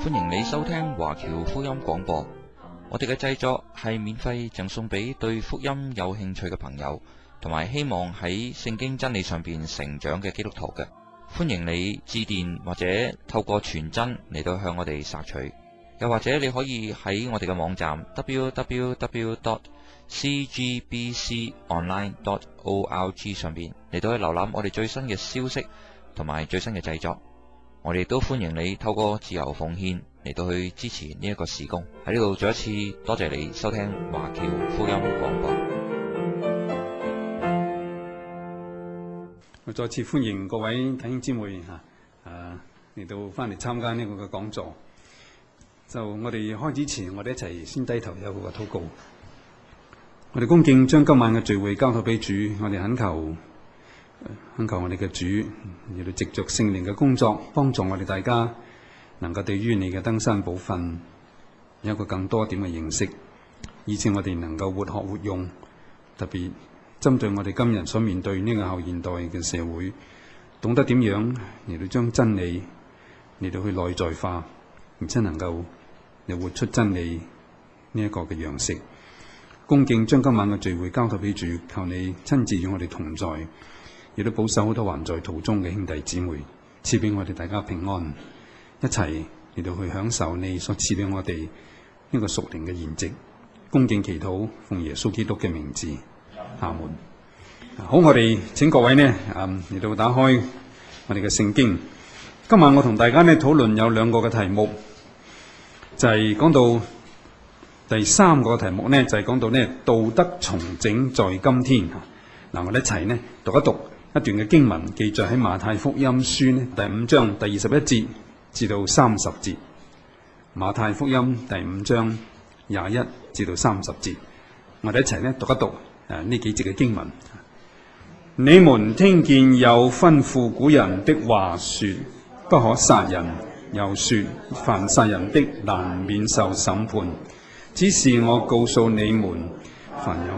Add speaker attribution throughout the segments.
Speaker 1: 歡迎你收聽華僑福音廣播。我哋嘅製作係免費贈送俾對福音有興趣嘅朋友，同埋希望喺聖經真理上邊成長嘅基督徒嘅。歡迎你致電或者透過傳真嚟到向我哋索取，又或者你可以喺我哋嘅網站 www.cgbconline.org 上邊嚟到去瀏覽我哋最新嘅消息同埋最新嘅製作。我哋都歡迎你透過自由奉獻嚟到去支持呢一個事工。喺呢度再一次多謝你收聽華僑福音廣播。
Speaker 2: 我再次歡迎各位弟兄姊妹嚟到翻嚟參加呢個嘅講座。就我哋開始前，我哋一齊先低頭有個禱告。我哋恭敬將今晚嘅聚會交託俾主，我哋懇求我哋嘅主，亦都藉着聖靈嘅工作，幫助我哋大家能夠對於你嘅登山寶訓有一個更多點嘅認識，以致我哋能夠活學活用。特別針對我哋今日所面對呢個後現代嘅社會，懂得點樣嚟到將真理嚟到去內在化，而且能夠嚟活出真理呢一個嘅樣式。恭敬將今晚嘅聚會交託俾主，求你親自與我哋同在，亦都保守好多還在途中嘅兄弟姊妹，賜俾我哋大家平安，一齊嚟到去享受你所賜俾我哋呢個屬靈嘅筵席。恭敬祈禱，奉耶穌基督嘅名字，阿門。好，我哋請各位呢嚟到打開我哋嘅聖經。今晚我同大家呢討論有兩個嘅題目，就係講到第三個題目呢，就係講到呢道德重整在今天。嗱，我哋一齊呢讀一讀一段嘅經文，記載喺馬太福音書呢第5章第21節至到30節。馬太福音第5章21至到30節，我哋一齊呢讀一讀呢幾節嘅經文。你們聽見有吩咐古人的話說，不可殺人，又說凡殺人的難免受審判。只是我告訴你們，凡有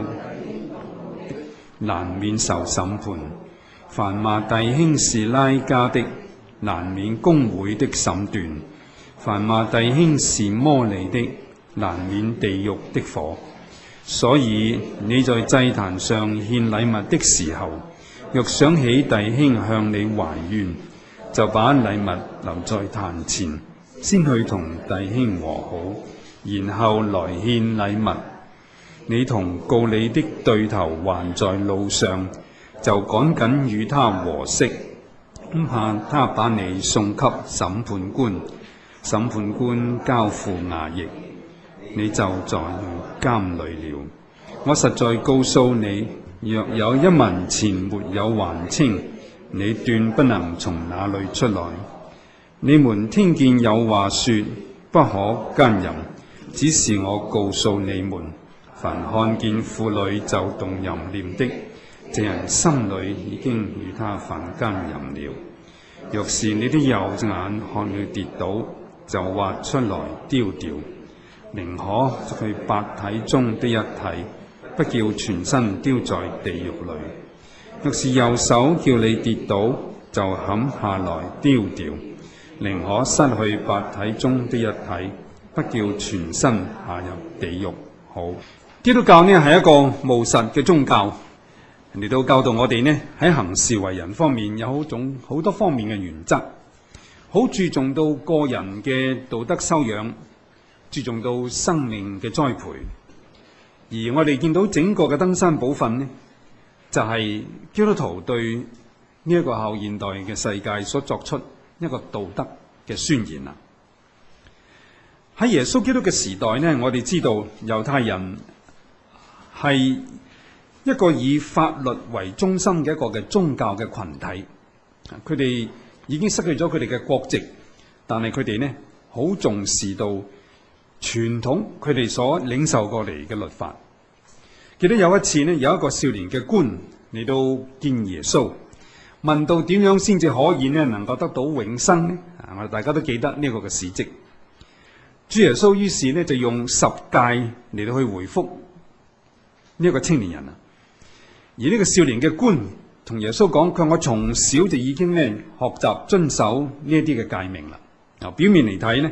Speaker 2: 難免受審判。凡罵弟兄是拉加的，難免公會的審斷；凡罵弟兄是魔利的，難免地獄的火。所以你在祭壇上獻禮物的時候，若想起弟兄向你懷怨，就把禮物留在壇前，先去同弟兄和好，然後來獻禮物。你同告你的對頭還在路上，就趕緊與他和息，怕他把你送給審判官，審判官交付衙役，你就在監裏了。我實在告訴你，若有1文錢沒有還清，你斷不能從那裏出來。你們聽見有話說，不可奸淫，只是我告訴你們，凡看見婦女就動淫念的，這人心裏已經與他犯奸淫了。若是你的右眼看你跌倒，就挖出來丟掉，寧可去百體中的一體，不叫全身丟在地獄裏。若是右手叫你跌倒，就砍下來丟掉，寧可失去百體中的一體，不叫全身下入地獄。好，基督教呢係一個務實嘅宗教，嚟到教導我哋呢喺行事為人方面有好多方面嘅原則，好注重到個人嘅道德修養，注重到生命嘅栽培。而我哋見到整個嘅登山寶訓呢，就係基督徒對呢一個後現代嘅世界所作出一個道德嘅宣言啦。喺耶穌基督嘅時代呢，我哋知道猶太人係一個以法律為中心嘅一個嘅宗教嘅群體，佢哋已經失去咗佢哋嘅國籍，但係佢哋呢好重視到傳統佢哋所領受過嚟嘅律法。記得有一次呢，有一個少年嘅官嚟到見耶穌，問到點樣先至可以呢能夠得到永生呢？我哋大家都記得呢個嘅事蹟。主耶穌於是呢就用10誡嚟到去回覆呢一個青年人啊。而呢個少年嘅官同耶穌講，佢話我從小就已經呢學習遵守呢一啲嘅誡命啦。表面嚟睇呢，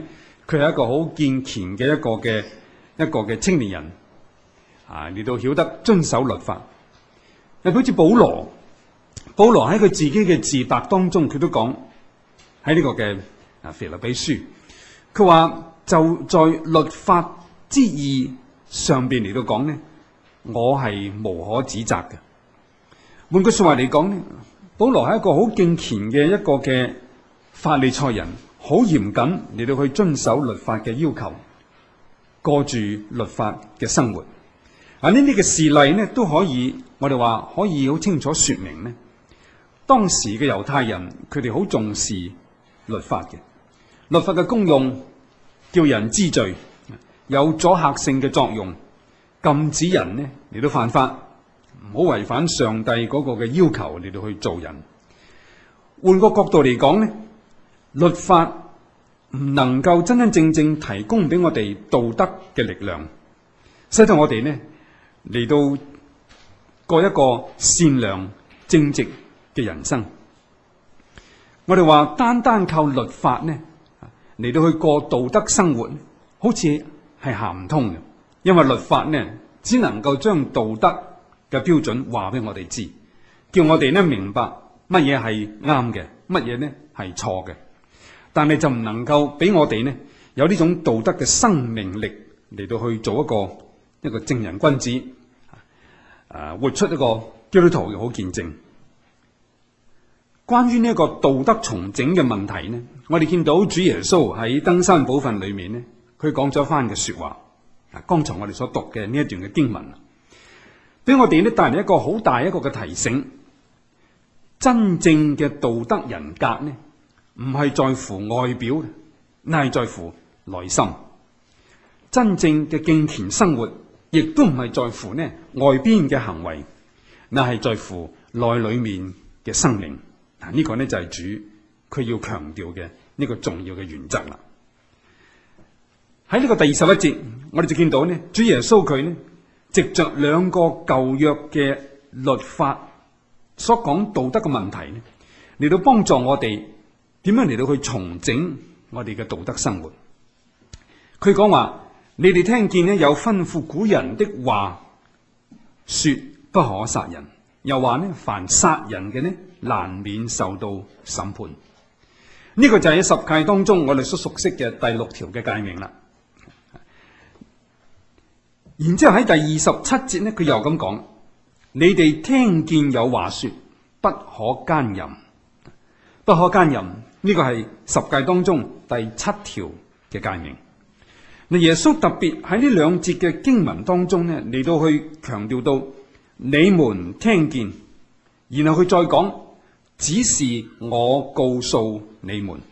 Speaker 2: 佢係一個好健全嘅一個嘅青年人，嚟到曉得遵守律法。好似保羅喺佢自己嘅自白當中，佢都講喺呢個嘅腓立比書，佢話就在律法之義上邊嚟到講呢，我係無可指責嘅。換句說話嚟講呢，保羅係一個好敬虔嘅一個嘅法利賽人，好嚴謹嚟到去遵守律法嘅要求，過住律法嘅生活。呢啲嘅事例呢，都可以我哋話可以好清楚說明呢，當時嘅猶太人佢哋好重視律法嘅，律法嘅功用叫人知罪，有阻嚇性嘅作用，禁止人呢嚟到犯法，唔好違反上帝嗰個嘅要求嚟到去做人。換個角度嚟講呢，律法唔能夠真真正正提供俾我哋道德嘅力量，使到我哋呢嚟到過一個善良正直嘅人生。我哋話單單靠律法呢嚟到去過道德生活，好似係行唔通嘅，因為律法呢只能夠將道德嘅標準話俾我哋知，叫我哋呢明白乜嘢係啱嘅，乜嘢呢係錯嘅，但係就唔能夠俾我哋呢有呢種道德嘅生命力嚟到去做一個正人君子，活出一個基督徒嘅好見證。關於呢一個道德重整嘅問題呢，我哋見到主耶穌喺登山寶訓裏面呢，佢講咗一番嘅說話。剛才我哋所讀嘅呢一段嘅經文，俾我哋呢帶嚟一個好大一個嘅提醒。真正嘅道德人格呢，唔係在乎外表，乃係在乎內心。真正嘅敬虔生活，亦都唔係在乎呢外邊嘅行為，乃係在乎內裏面嘅生命。呢個呢就係主佢要強調嘅呢個重要嘅原則啦。喺呢個第21節，我哋就見到呢，主耶穌佢呢藉着兩個舊約嘅律法所講道德嘅問題呢，嚟到幫助我哋點樣嚟到去重整我哋嘅道德生活。佢講話，你哋聽見呢有吩咐古人的話，說不可殺人，又話呢凡殺人嘅呢難免受到審判。呢個就係喺十誡當中我哋所熟悉嘅第6條嘅誡命啦。然之後喺第27節呢，佢又咁講，你哋聽見有話說不可奸淫，不可奸淫，呢個係十誡當中第7條嘅誡命。嗱，耶穌特別喺呢兩節嘅經文當中呢，嚟到去強調到你們聽見，然後佢再講，只是我告訴你們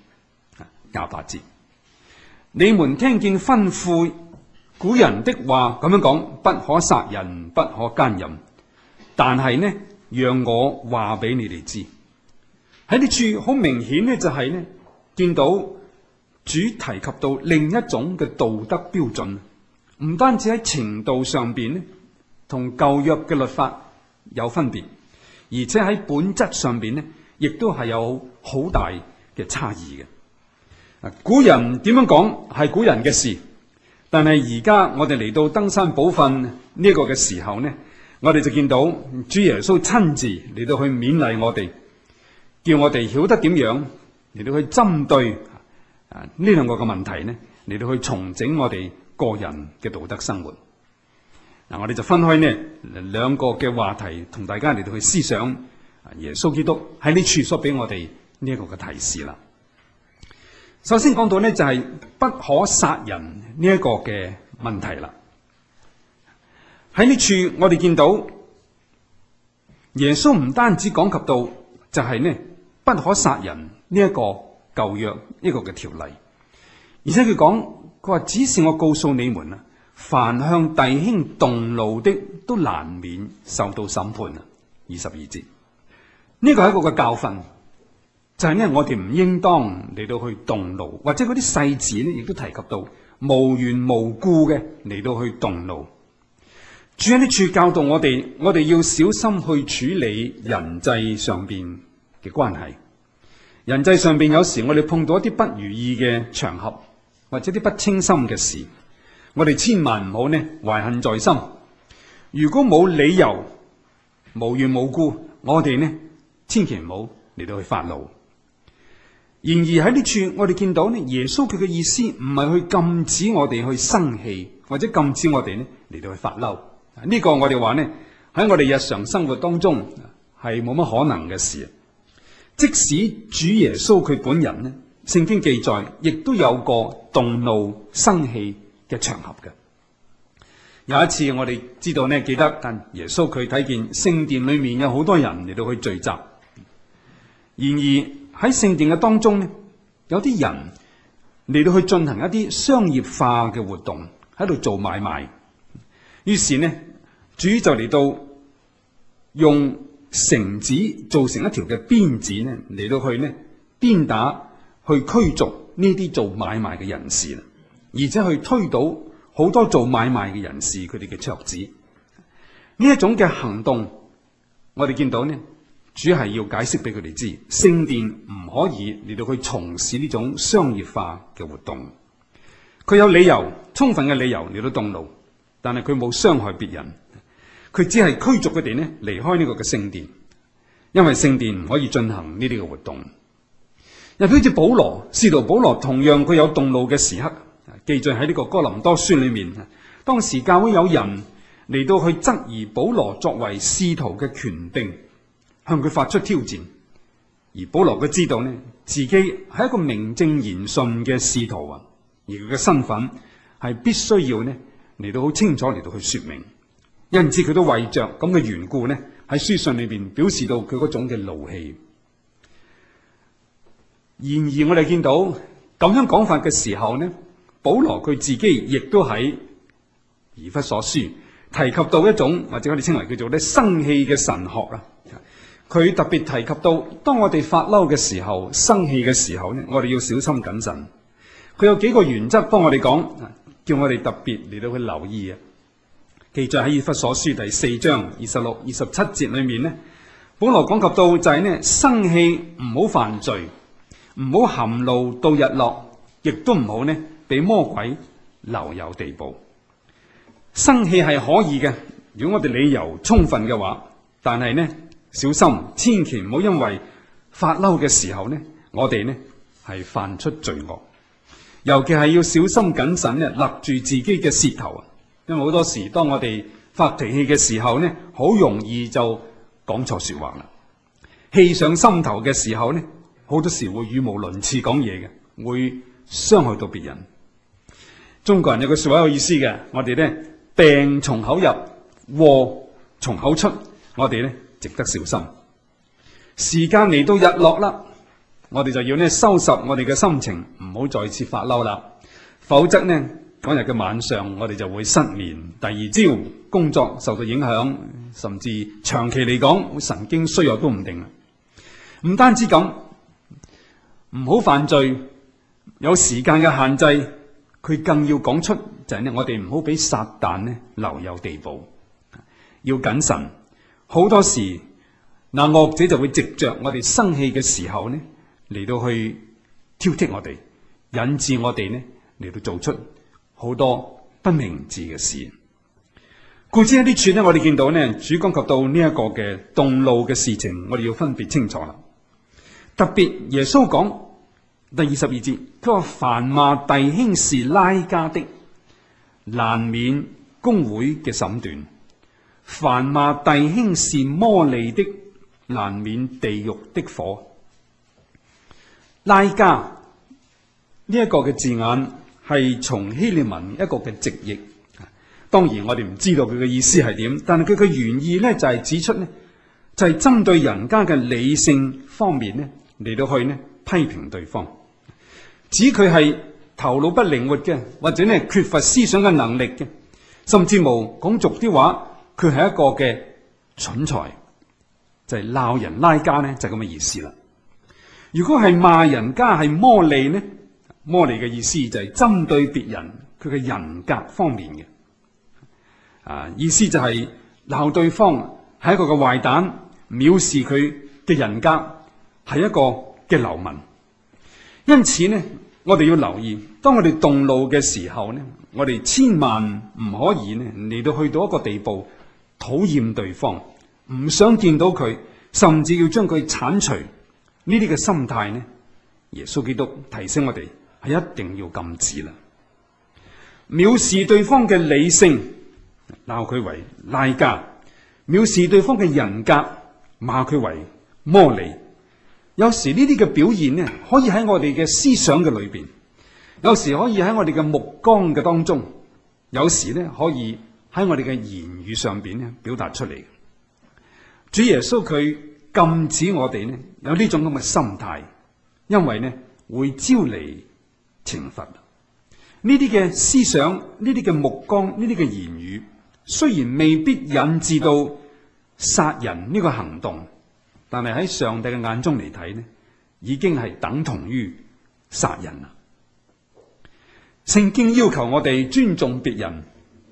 Speaker 2: ，28節，你們聽見吩咐古人的話咁樣講，不可殺人，不可奸淫，但係呢，讓我話俾你哋知，喺呢處好明顯呢，就係呢見到主提及到另一種嘅道德標準，唔單止喺程度上邊呢同舊約嘅律法有分別，而且喺本質上邊呢亦都係有好大嘅差異嘅。古人點樣講係古人嘅事，但係而家我哋嚟到登山寶訓呢個嘅時候呢，我哋就見到主耶穌親自嚟到去勉勵我哋，叫我哋曉得點樣嚟到去針對呢兩個嘅問題呢，嚟到去重整我哋個人嘅道德生活。我哋就分開呢兩個嘅話題，同大家嚟到去思想耶穌基督喺呢處所俾我哋呢一個嘅提示啦。首先講到呢，就係不可殺人呢一個嘅問題啦。喺呢處我哋見到耶穌唔單止講及到就係呢不可殺人呢一個舊約呢個嘅條例，而且佢話只是我告訴你們啊，凡向弟兄動怒的都難免受到審判啊。22節呢個係一個嘅教訓，就係呢我哋唔應當嚟到去動怒，或者嗰啲細字呢亦都提及到無緣無故嘅嚟到去動怒。主喺呢處教導我哋要小心去處理人際上邊嘅關係。人際上邊有時我哋碰到一啲不如意嘅場合， 或者啲不稱心嘅事，我哋千萬唔好呢懷恨在心。如果冇理由、無緣無故，我哋呢千祈唔好嚟到去發怒。然而喺呢處，我哋見到呢，耶穌佢嘅意思唔係去禁止我哋去生氣，或者禁止我哋呢嚟到去發嬲。呢個我哋話呢喺我哋日常生活當中係冇乜可能嘅事。即使主耶穌佢本人呢，聖經記載亦都有過動怒生氣嘅場合嘅。有一次我哋知道呢，記得但耶穌佢睇見聖殿裏面有好多人嚟到去聚集，然而喺聖殿嘅當中呢，有啲人嚟到去進行一啲商業化嘅活動，喺度做買賣。於是呢，主就嚟到用繩子做成一條嘅鞭子呢，嚟到去呢鞭打去驅逐呢啲做買賣嘅人士，而且去推倒好多做買賣嘅人士佢哋嘅桌子。呢一種嘅行動，我哋見到呢，主係要解釋俾佢哋知，聖殿唔可以嚟到去從事呢種商業化嘅活動。佢有理由，充分嘅理由嚟到動怒，但係佢冇傷害別人，佢只係驅逐佢哋呢離開呢個嘅聖殿，因為聖殿唔可以進行呢啲嘅活動。又好似保羅，使徒保羅同樣佢有動怒嘅時刻，記載喺呢個哥林多書裏面。當時教會有人嚟到去質疑保羅作為使徒嘅權柄，向佢發出挑戰。而保羅佢知道呢，自己係一個名正言順嘅使徒啊，而佢嘅身份係必須要呢嚟到好清楚嚟到去說明。因此佢都為着咁嘅緣故呢，喺書信裏邊表示到佢嗰種嘅怒氣。然而我哋見到咁樣講法嘅時候呢，保羅佢自己亦都喺以弗所書提及到一種或者我哋稱為叫做咧生氣嘅神學啦。佢特別提及到，當我哋發嬲嘅時候、生氣嘅時候呢，我哋要小心謹慎。佢有幾個原則幫我哋講，叫我哋特別嚟到去留意啊。記載喺以弗所書第4章26、27節裏面呢，保羅講及到就係呢，生氣唔好犯罪，唔好含怒到日落，亦都唔好呢俾魔鬼留有地步。生氣係可以嘅，如果我哋理由充分嘅話，但係呢小心，千祈唔好因為發嬲嘅時候呢，我哋呢係犯出罪惡。尤其係要小心謹慎呢，勒住自己嘅舌頭啊！因為好多時當我哋發脾氣嘅時候呢，好容易就講錯說話啦。氣上心頭嘅時候呢，好多時會語無倫次講嘢嘅，會傷害到別人。中國人有句說話有意思嘅，我哋呢病從口入，禍從口出，我哋呢值得小心。時間嚟到日落啦，我哋就要呢收拾我哋嘅心情，唔好再次發嬲啦，否則呢嗰日嘅晚上我哋就會失眠，第二朝工作受到影響，甚至長期嚟講會神經衰弱都唔定。唔單止咁，唔好犯罪，有時間嘅限制，佢更要講出就係呢，我哋唔好俾撒旦呢留有地步，要謹慎。好多時嗱，惡者就會藉着我哋生氣嘅時候呢嚟到去挑剔我哋，引致我哋呢嚟到做出好多不明智嘅事。故此喺呢處呢，我哋見到呢主講及到呢一個嘅動怒嘅事情，我哋要分別清楚啦。特別耶穌講第22節，佢話凡罵弟兄是拉加的，難免公會嘅審斷；凡罵弟兄是魔利的，難免地獄的火。拉加呢一個嘅字眼係從希臘文一個嘅直譯，當然我哋唔知道佢嘅意思係點，但係佢嘅原意呢就係指出呢，就係針對人家嘅理性方面呢嚟到去呢批評對方，指佢係頭腦不靈活嘅，或者呢缺乏思想嘅能力嘅，甚至無講俗啲話，佢係一個嘅蠢材，就係鬧人拉加呢就係咁嘅意思啦。如果係罵人家係魔利呢，魔利嘅意思就係針對別人佢嘅人格方面嘅，意思就係鬧對方係一個嘅壞蛋，藐視佢嘅人格，係一個嘅流氓。因此呢， 我哋要留意，當我哋動怒嘅時候呢，我哋千萬唔可以呢嚟到去到一個地步，討厭對方，唔想見到佢，甚至要將佢剷除。呢啲嘅心態呢，耶穌基督提醒我哋係一定要禁止啦。藐視對方嘅理性，鬧佢為拉加；藐視對方嘅人格，罵佢為魔利。有時呢啲嘅表現呢，可以喺我哋嘅思想嘅裏邊，有時可以喺我哋嘅目光嘅當中，有時呢可以喺我哋嘅言語上邊呢表達出嚟。主耶穌佢禁止我哋呢有呢種咁嘅心態，因為呢會招嚟懲罰。呢啲嘅思想、呢啲嘅目光、呢啲嘅言語，雖然未必引致到殺人呢個行動，但係喺上帝嘅眼中嚟睇呢，已經係等同於殺人啦。聖經要求我哋尊重別人，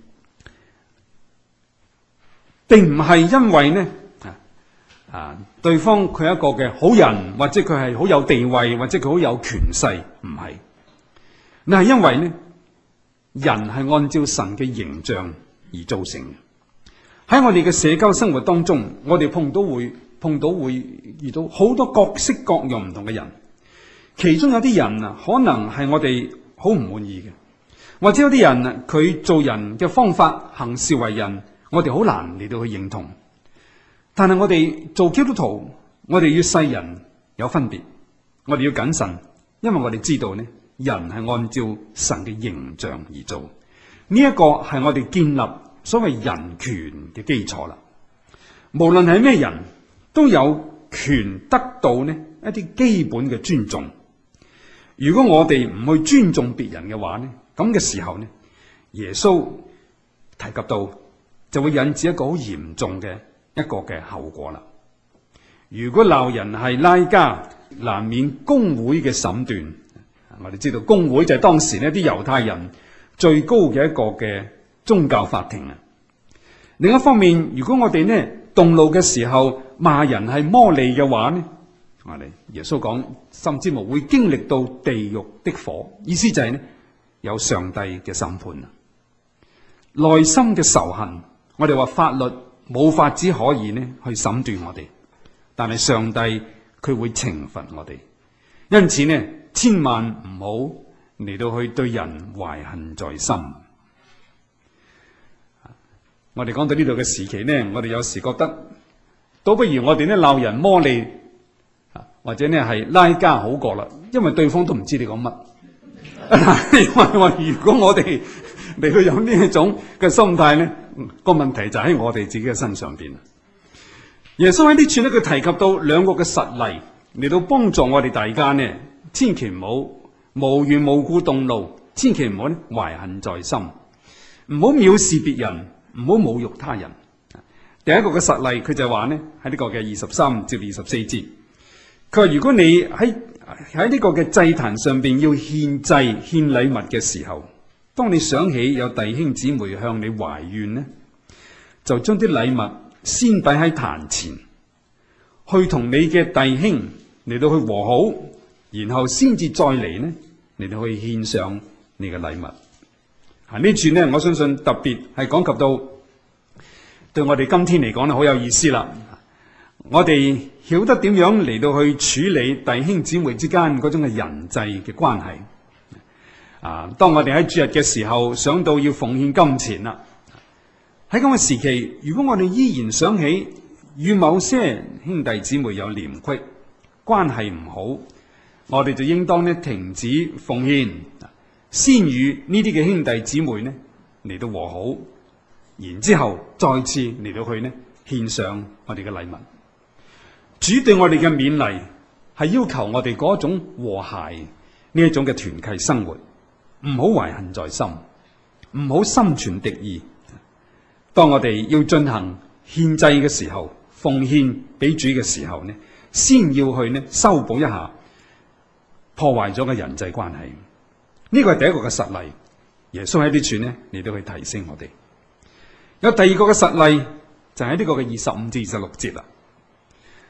Speaker 2: 並唔係因為呢對方佢係一個嘅好人，或者佢係好有地位，或者佢好有權勢，唔係。那係因為呢，人係按照神嘅形象而造成嘅。喺我哋嘅社交生活當中，我哋碰到會遇到好多各式各樣唔同嘅人，其中有啲人啊，可能係我哋好唔滿意嘅，或者有啲人啊，佢做人嘅方法、行事為人，我哋好難嚟到去認同。但係我哋做基督徒，我哋與世人有分別，我哋要謹慎，因為我哋知道呢，人係按照神嘅形象而做，呢一個係我哋建立所謂人權嘅基礎啦。無論係咩人都有權得到呢一啲基本嘅尊重。如果我哋唔去尊重別人嘅話呢，咁嘅時候呢，耶穌提及到就會引致一個好嚴重嘅一個嘅後果啦。如果鬧人係拉加，難免公會嘅審斷。我哋知道公會就係當時呢啲猶太人最高嘅一個嘅宗教法庭啊。另一方面，如果我哋呢動怒嘅時候罵人係魔利嘅話呢，我哋耶穌講，甚至乎會經歷到地獄的火，意思就係呢有上帝嘅審判啊。內心嘅仇恨，我哋話法律冇法子可以呢去審斷我哋，但係上帝佢會懲罰我哋，因此呢千萬唔好嚟到去對人懷恨在心。我哋講到呢度嘅時期呢，我哋有時覺得倒不如我哋呢鬧人魔利或者呢係拉加好過啦，因為對方都唔知你講乜。因為話如果我哋嚟到有呢一種嘅心態呢，個問題就喺我哋自己嘅身上邊。耶穌喺呢處呢，佢提及到兩個嘅實例嚟到幫助我哋大家呢，千祈唔好無緣無故動怒，千祈唔好呢懷恨在心，唔好藐視別人，唔好侮辱他人。第一個嘅實例，佢就話呢喺呢個嘅23至24節，佢話如果你喺呢個嘅祭壇上邊要獻祭獻禮物嘅時候，當你想起有弟兄姊妹向你懷怨呢，就將啲禮物先擺喺壇前，去同你嘅弟兄嚟到去和好，然後先至再嚟呢嚟到去獻上你嘅禮物。呢處呢，我相信特別係講及到對我哋今天嚟講呢好有意思啦。我哋曉得點樣嚟到去處理弟兄姊妹之間嗰種嘅人際嘅關係。當我哋喺主日嘅時候想到要奉獻金錢啦，喺咁嘅時期，如果我哋依然想起與某些兄弟姊妹有嫌隙，關係唔好，我哋就應當呢停止奉獻，先與呢啲嘅兄弟姊妹呢嚟到和好，然之後再次嚟到去呢獻上我哋嘅禮物。主對我哋嘅勉勵係要求我哋嗰種和諧呢一種嘅團契生活，唔好懷恨在心，唔好心存敵意。當我哋要進行獻祭嘅時候，奉獻俾主嘅時候呢，先要去呢修補一下破壞咗嘅人際關係。呢個係第一個嘅實例。耶穌喺呢處呢嚟到去提醒我哋。有第二個嘅實例就喺呢個嘅25至26節啦。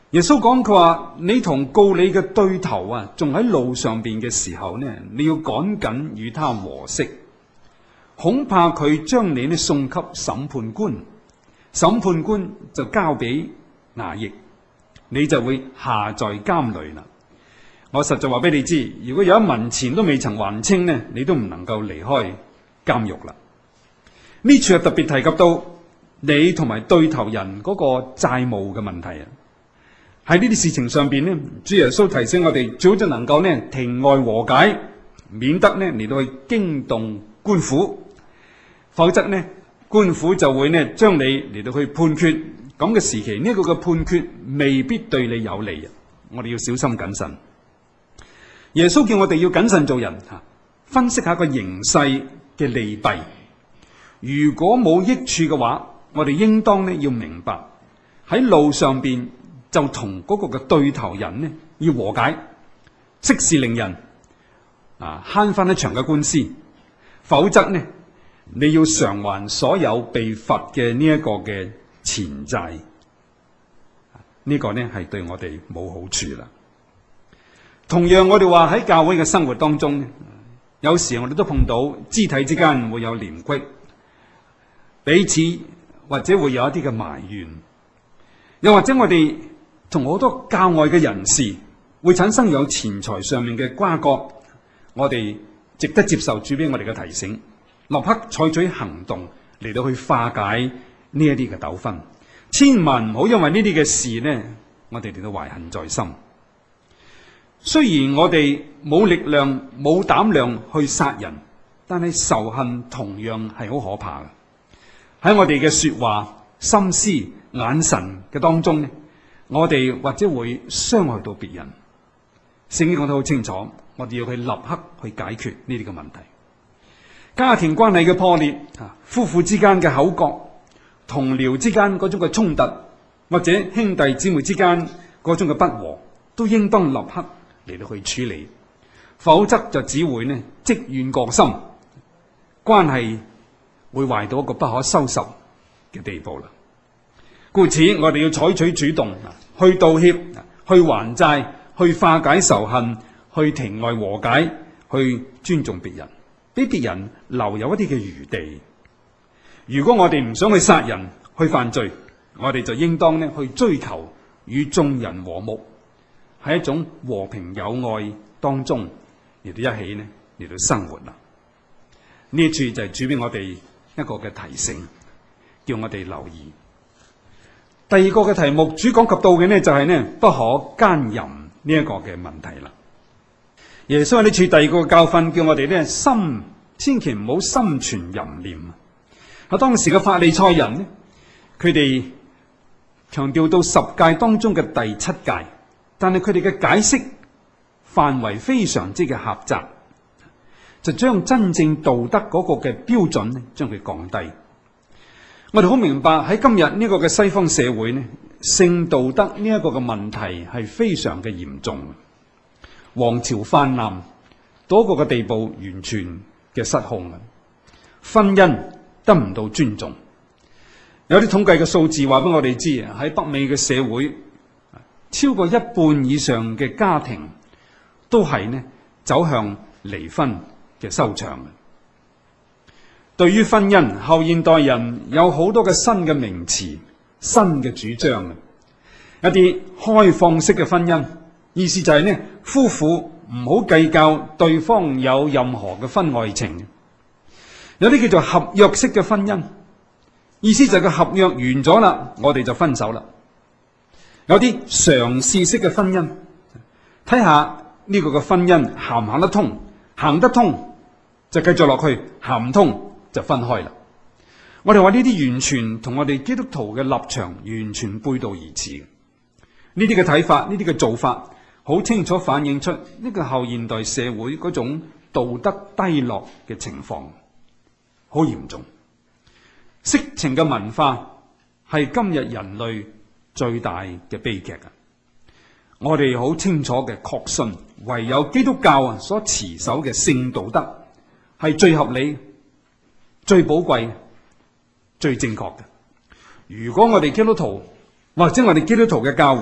Speaker 2: 耶穌講佢話：你同告你嘅對頭啊，仲喺路上邊嘅時候呢，你要趕緊與他和息，恐怕佢將你呢送給審判官，審判官就交俾衙役，你就會下在監裏啦。我實在話俾你知，如果有一文錢都未曾還清呢，你都唔能夠離開監獄啦。呢處係特別提及到你同埋對頭人嗰個債務嘅問題啊。喺呢啲事情上邊呢，主耶穌提醒我哋，最好就能夠呢庭外和解，免得呢嚟到去驚動官府，否則呢官府就會呢將你嚟到去判決。咁嘅時期，呢個嘅判決未必對你有利啊！我哋要小心謹慎。耶穌叫我哋要謹慎做人，分析下個形勢嘅利弊。如果冇益處嘅話，我哋應當呢要明白喺路上邊就同嗰個嘅對頭人呢要和解，息事寧人，慳翻一場嘅官司。否則呢，你要償還所有被罰嘅呢一個嘅錢債，呢個呢係對我哋冇好處啦。同樣我哋話喺教會嘅生活當中，有時我哋都碰到肢體之間會有嫌隙，彼此或者會有一啲嘅埋怨，又或者我哋同好多教外嘅人士會產生有錢財上面嘅瓜葛，我哋值得接受主俾我哋嘅提醒，立刻採取行動嚟到去化解呢一啲嘅糾紛。千萬唔好因為呢啲嘅事呢，我哋嚟到懷恨在心。雖然我哋冇力量冇膽量去殺人，但係仇恨同樣係好可怕嘅。喺我哋嘅說話、心思、眼神嘅當中呢，我哋或者會傷害到別人。聖經講得好清楚，我哋要去立刻去解決呢啲嘅問題。家庭關係嘅破裂，夫婦之間嘅口角，同僚之間嗰種嘅衝突，或者兄弟姊妹之間嗰種嘅不和，都應當立刻嚟到去處理，否則就只會呢積怨過深，關係會壞到一個不可收拾嘅地步啦。故此，我哋要採取主動，去道歉，去還債，去化解仇恨，去庭外和解，去尊重別人，俾別人留有一啲嘅餘地。如果我哋唔想去殺人、去犯罪，我哋就應當呢去追求與眾人和睦，喺一種和平友愛當中嚟到一起呢嚟到生活啦。呢一處就係主俾我哋一個嘅提醒，叫我哋留意。第二個嘅題目，主講及到嘅呢就係呢不可奸淫呢一個嘅問題啦。耶穌喺呢處第二個教訓，叫我哋呢心千祈唔好心存淫念。喺當時嘅法利賽人呢，佢哋強調到十誡當中嘅第七誡，但係佢哋嘅解釋範圍非常之嘅狹窄，就將真正道德嗰個嘅標準呢，將佢降低。我哋好明白喺今日呢個嘅西方社會呢，性道德呢一個嘅問題係非常嘅嚴重，王朝泛濫到一個嘅地步，完全嘅失控啦，婚姻得唔到尊重。有啲統計嘅數字話俾我哋知，喺北美嘅社會，超過一半以上嘅家庭都係呢走向離婚嘅收場。對於婚姻，後現代人有好多嘅新嘅名詞、新嘅主張。一啲開放式嘅婚姻，意思就係呢夫婦唔好計較對方有任何嘅婚外情。有啲叫做合約式嘅婚姻，意思就係個合約完咗啦，我哋就分手啦。有啲嘗試式嘅婚姻，睇下呢個嘅婚姻行唔行得通，行得通就繼續落去，行唔通就分開啦。我哋話呢啲完全同我哋基督徒嘅立場完全背道而馳。呢啲嘅睇法，呢啲嘅做法，好清楚反映出呢個後現代社會嗰種道德低落嘅情況，好嚴重。色情嘅文化係今日人類最大嘅悲劇啊！我哋好清楚嘅確信，唯有基督教所持守嘅性道德係最合理、最寶貴、最正確嘅。如果我哋基督徒或者我哋基督徒嘅教會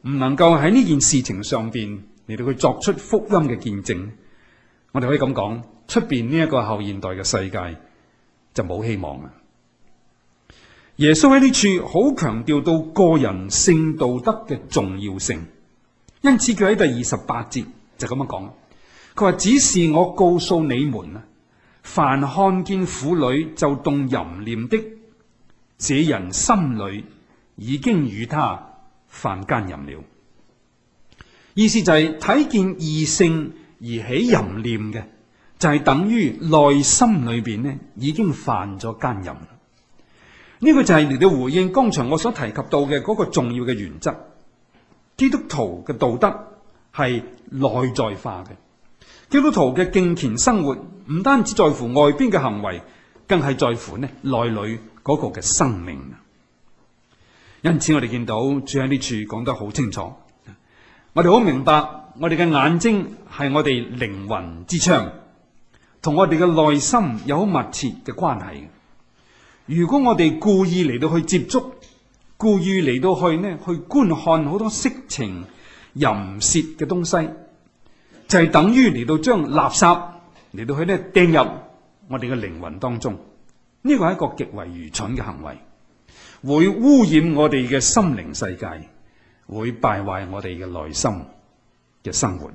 Speaker 2: 唔能夠喺呢件事情上邊嚟到去作出福音嘅見證，我哋可以咁講，出邊呢一個後現代嘅世界就冇希望啦。耶穌喺呢處好強調到個人性道德嘅重要性，因此佢喺第28節就咁樣講，佢話：只是我告訴你們啊，凡看見婦女就動淫念的，這人心裏已經與他犯奸淫了。意思就係睇見異性而起淫念嘅，就係等於內心裏邊呢已經犯咗奸淫。呢個就係嚟到回應剛才我所提及到嘅嗰個重要嘅原則。基督徒嘅道德係內在化嘅，基督徒嘅敬虔生活唔單止在乎外邊嘅行為，更係在乎呢內裏嗰個嘅生命。因此我哋見到主喺呢處講得好清楚，我哋好明白我哋嘅眼睛係我哋靈魂之窗，同我哋嘅內心有好密切嘅關係。如果我哋故意嚟到去接觸，故意嚟到去呢去觀看好多色情淫褻嘅東西，就係等於嚟到將垃圾嚟到去呢掟入我哋嘅靈魂當中。呢個係一個極為愚蠢嘅行為，會污染我哋嘅心靈世界，會敗壞我哋嘅內心嘅生活。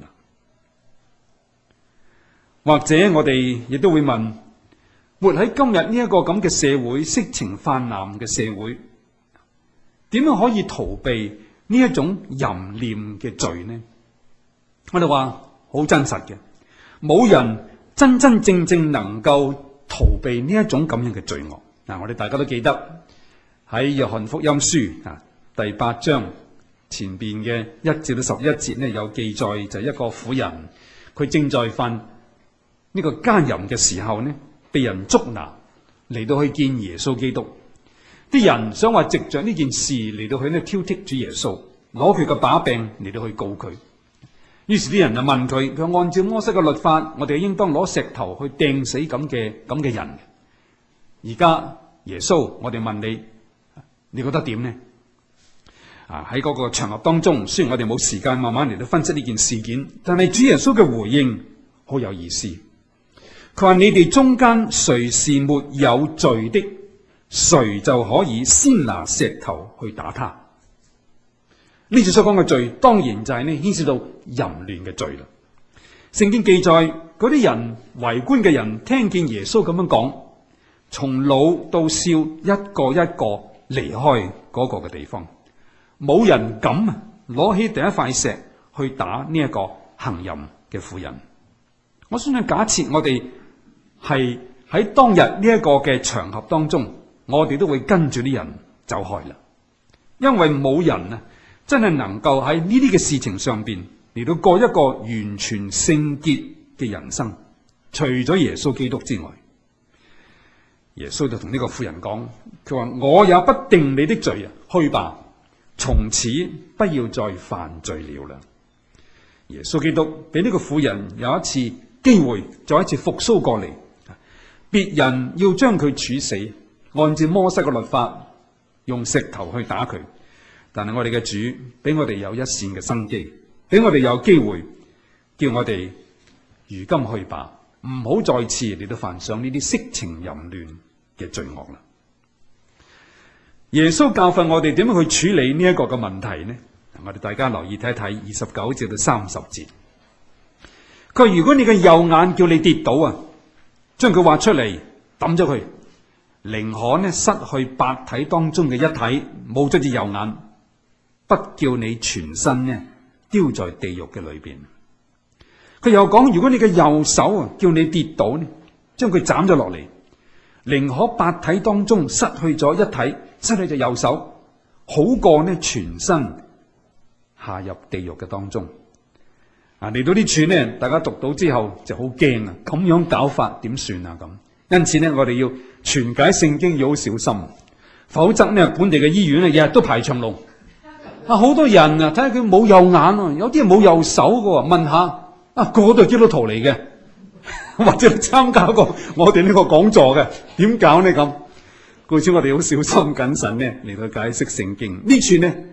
Speaker 2: 或者我哋亦都會問，活喺今日呢一個咁嘅社會，色情泛濫嘅社會，點樣可以逃避呢一種淫念嘅罪呢？我哋話好真實嘅，冇人真真正正能夠逃避呢一種咁樣嘅罪惡。我哋大家都記得喺約翰福音書第8章前邊嘅1至到11節呢，有記載，就係一個婦人，佢正在犯呢個奸淫嘅時候呢，被人捉拿嚟到去見耶穌基督。啲人想話藉着呢件事嚟到去呢挑剔主耶穌，攞佢個把柄嚟到去告佢。於是啲人就問佢，佢按照摩西嘅律法，我哋應當攞石頭去掟死咁嘅人。而家耶穌，我哋問你，你覺得點呢？喺嗰個場合當中，雖然我哋冇時間慢慢嚟到分析呢件事件，但係主耶穌嘅回應好有意思。佢話：你哋中間誰是沒有罪的，誰就可以先拿石頭去打他。呢次所講嘅罪，當然就係呢牽涉到淫亂嘅罪啦。聖經記載，嗰啲人圍觀嘅人聽見耶穌咁樣講，從老到少一個一個離開嗰個嘅地方，冇人敢攞起第一塊石去打呢一個行淫嘅婦人。我相信假設我哋係喺當日呢一個嘅場合當中，我哋都會跟住啲人走開啦，因為冇人真係能夠喺呢啲嘅事情上邊嚟到過一個完全聖潔嘅人生，除咗耶穌基督之外。耶穌就同呢個婦人講，佢話：我也不定你的罪啊，去吧，從此不要再犯罪了啦。耶穌基督俾呢個婦人有一次機會，再一次復甦過嚟。別人要將佢處死，按照摩西嘅律法，用石頭去打佢。但係我哋嘅主俾我哋有一線嘅生機，俾我哋有機會，叫我哋如今去吧，唔好再次嚟到犯上呢啲色情淫亂嘅罪惡啦。耶穌教訓我哋點樣去處理呢一個嘅問題呢？我哋大家留意睇一睇29至到30節。佢話：如果你嘅右眼叫你跌倒啊，將佢挖出嚟抌咗佢，寧可呢失去百體當中嘅一體，冇咗隻右眼，不叫你全身呢丟在地獄嘅裏邊。佢又講：如果你嘅右手啊叫你跌倒呢，將佢斬咗落嚟，寧可百體當中失去咗一體，失去隻右手，好過呢全身下入地獄嘅當中。嚟到呢處呢，大家讀到之後就好驚啊！咁樣搞法點算啊？咁因此呢，我哋要傳解聖經要好小心，否則呢本地嘅醫院呢日日都排長龍。好多人啊，睇下佢冇右眼啊，有啲人冇右手嘅，問下個個都係基督徒嚟嘅，或者參加過我哋呢個講座嘅，點搞呢咁？故此我哋好小心謹慎呢嚟到解釋聖經。呢處呢，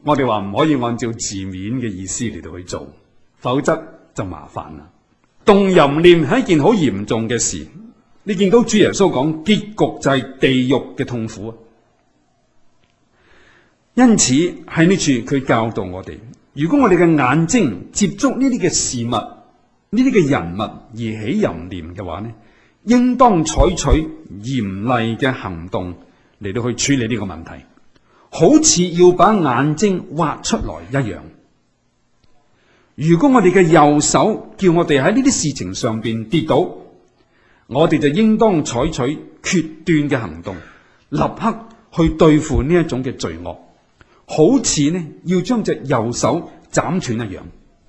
Speaker 2: 我哋話唔可以按照字面嘅意思嚟到去做，否則就麻煩啦。動淫念係一件好嚴重嘅事，你見到主耶穌講結局就係地獄嘅痛苦啊！因此喺呢處佢教導我哋，如果我哋嘅眼睛接觸呢啲嘅事物、呢啲嘅人物而起淫念嘅話呢，應當採取嚴厲嘅行動嚟到去處理呢個問題，好似要把眼睛挖出來一樣。如果我哋嘅右手叫我哋喺呢啲事情上邊跌倒，我哋就應當採取決斷嘅行動，立刻去對付呢一種嘅罪惡，好似呢要將隻右手斬斷一樣。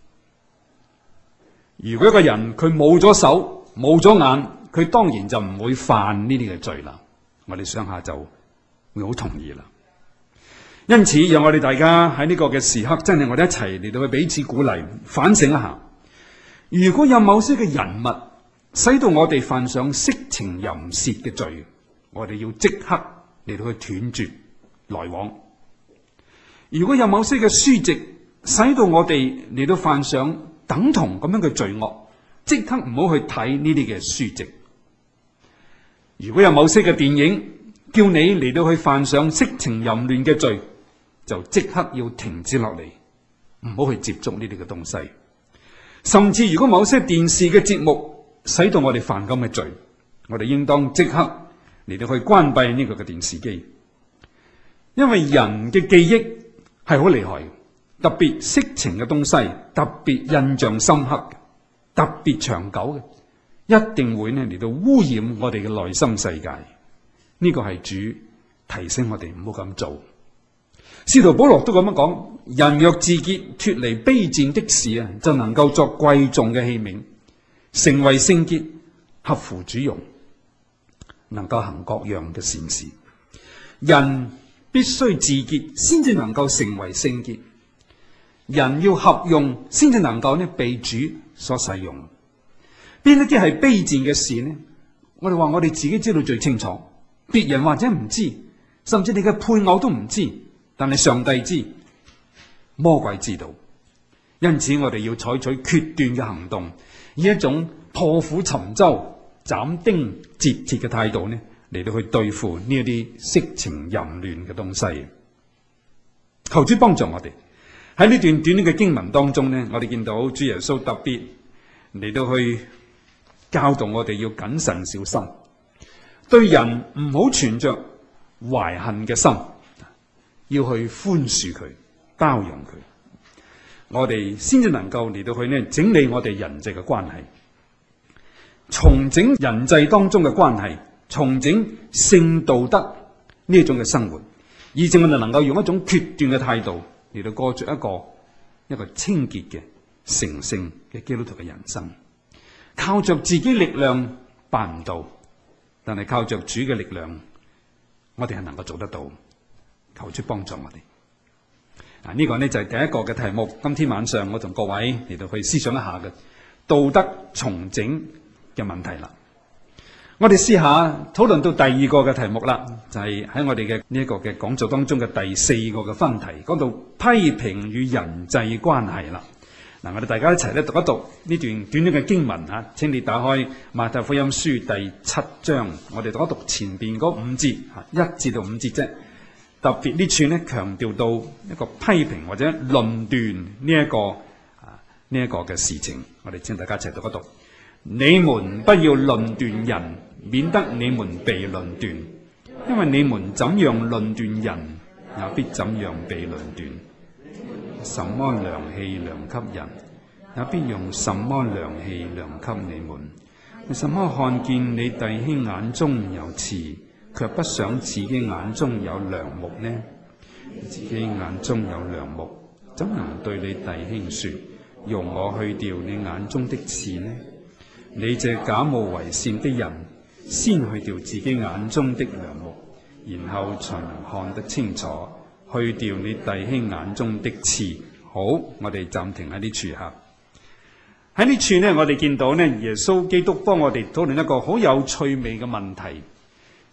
Speaker 2: 如果一個人佢冇咗手冇咗眼，佢當然就唔會犯呢啲嘅罪啦。我哋想下就會好同意啦。因此，讓我哋大家喺呢個嘅時刻，真係我哋一齊嚟到去彼此鼓勵，反省一下。如果有某些嘅人物使到我哋犯上色情淫褻嘅罪，我哋要即刻嚟到去斷絕來往。如果有某些嘅書籍使到我哋嚟到犯上等同咁樣嘅罪惡，即刻唔好去睇呢啲嘅書籍。如果有某些嘅電影叫你嚟到去犯上色情淫亂嘅罪，就即刻要停止落嚟，唔好去接觸呢啲嘅東西。甚至如果某些電視嘅節目使到我哋犯咁嘅罪，我哋應當即刻嚟到去關閉呢個嘅電視機。因為人嘅記憶係好厲害，特別色情嘅東西，特別印象深刻，特別長久嘅，一定會呢嚟到污染我哋嘅內心世界。呢個係主提醒我哋唔好咁做。使徒保羅都咁樣講，人若自潔，脫離卑賤的事啊，就能夠作貴重嘅器皿，成為聖潔，合乎主用，能夠行各樣嘅善事。人必須自潔，先至能夠成為聖潔。人要合用，先至能夠呢被主所使用。邊一啲係卑賤嘅事呢？我哋話我哋自己知道最清楚，別人或者唔知，甚至你嘅配偶都唔知。但係上帝知，魔鬼知道，因此我哋要採取決斷嘅行動，以一種破釜沉舟、斬釘截鐵嘅態度呢，嚟到去對付呢一啲色情淫亂嘅東西。求主幫助我哋喺呢段短嘅經文當中呢，我哋見到主耶穌特別嚟到去教導我哋要謹慎小心，對人唔好存着懷恨嘅心。要去寬恕佢，包容佢，我哋先至能夠嚟到去呢整理我哋人際嘅關係，重整人際當中嘅關係，重整聖道德呢一種嘅生活，以至我哋能夠用一種決斷嘅態度嚟到過着一個清潔嘅成聖嘅基督徒嘅人生。靠着自己力量辦唔到，但係靠着主嘅力量，我哋係能夠做得到。求主幫助我哋。呢個呢就係第一個嘅題目。今天晚上我同各位嚟到去思想一下嘅道德重整嘅問題啦。我哋試下討論到第二個嘅題目啦，就係喺我哋嘅呢一個嘅講座當中嘅第四個嘅分題，講到批評與人際關係啦。嗱，我哋大家一齊咧讀一讀呢段短短嘅經文啊。請你打開馬太福音書第7章，我哋讀一讀前邊嗰5節，1至到5節啫。特別呢處呢強調到一個批評或者論斷呢一個嘅事情，我哋請大家一齊讀一讀。你們不要論斷人，免得你們被論斷，因為你們怎樣論斷人，也必怎樣被論斷。什麼量器量給人，也必用什麼量器量給你們。為什麼看見你弟兄眼中有刺，卻不想自己眼中有梁木呢？自己眼中有梁木，怎能對你弟兄說，容我去掉你眼中的刺呢？你這假冒為善的人，先去掉自己眼中的梁木，然後才能看得清楚，去掉你弟兄眼中的刺。好，我哋暫停喺呢處吓。喺呢處呢，我哋見到呢，耶穌基督幫我哋討論一個好有趣味嘅問題。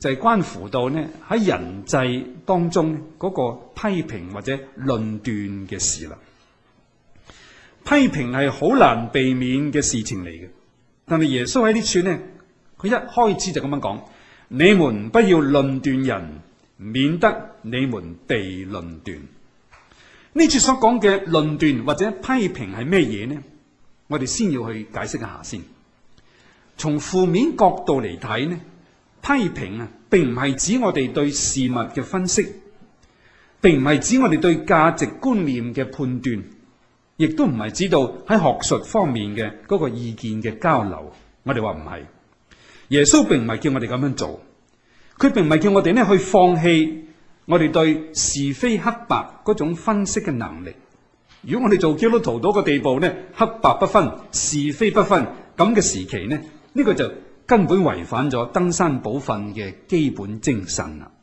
Speaker 2: 就係關乎到呢喺人際當中嗰個批評或者論斷嘅事啦。批評係好難避免嘅事情嚟嘅，但係耶穌喺呢處呢，佢一開始就咁樣講：你們不要論斷人，免得你們被論斷。呢處所講嘅論斷或者批評係咩嘢呢？我哋先要去解釋一下先。從負面角度嚟睇呢，批評啊，並唔係指我哋對事物嘅分析，並唔係指我哋對價值觀念嘅判斷，亦都唔係指到喺學術方面嘅嗰個意見嘅交流。我哋話唔係，耶穌並唔係叫我哋咁樣做，佢並唔係叫我哋呢去放棄我哋對是非黑白嗰種分析嘅能力。如果我哋做基督徒到個地步呢，黑白不分、是非不分咁嘅時期呢，呢個就根本違反咗登山寶訓嘅基本精神啦。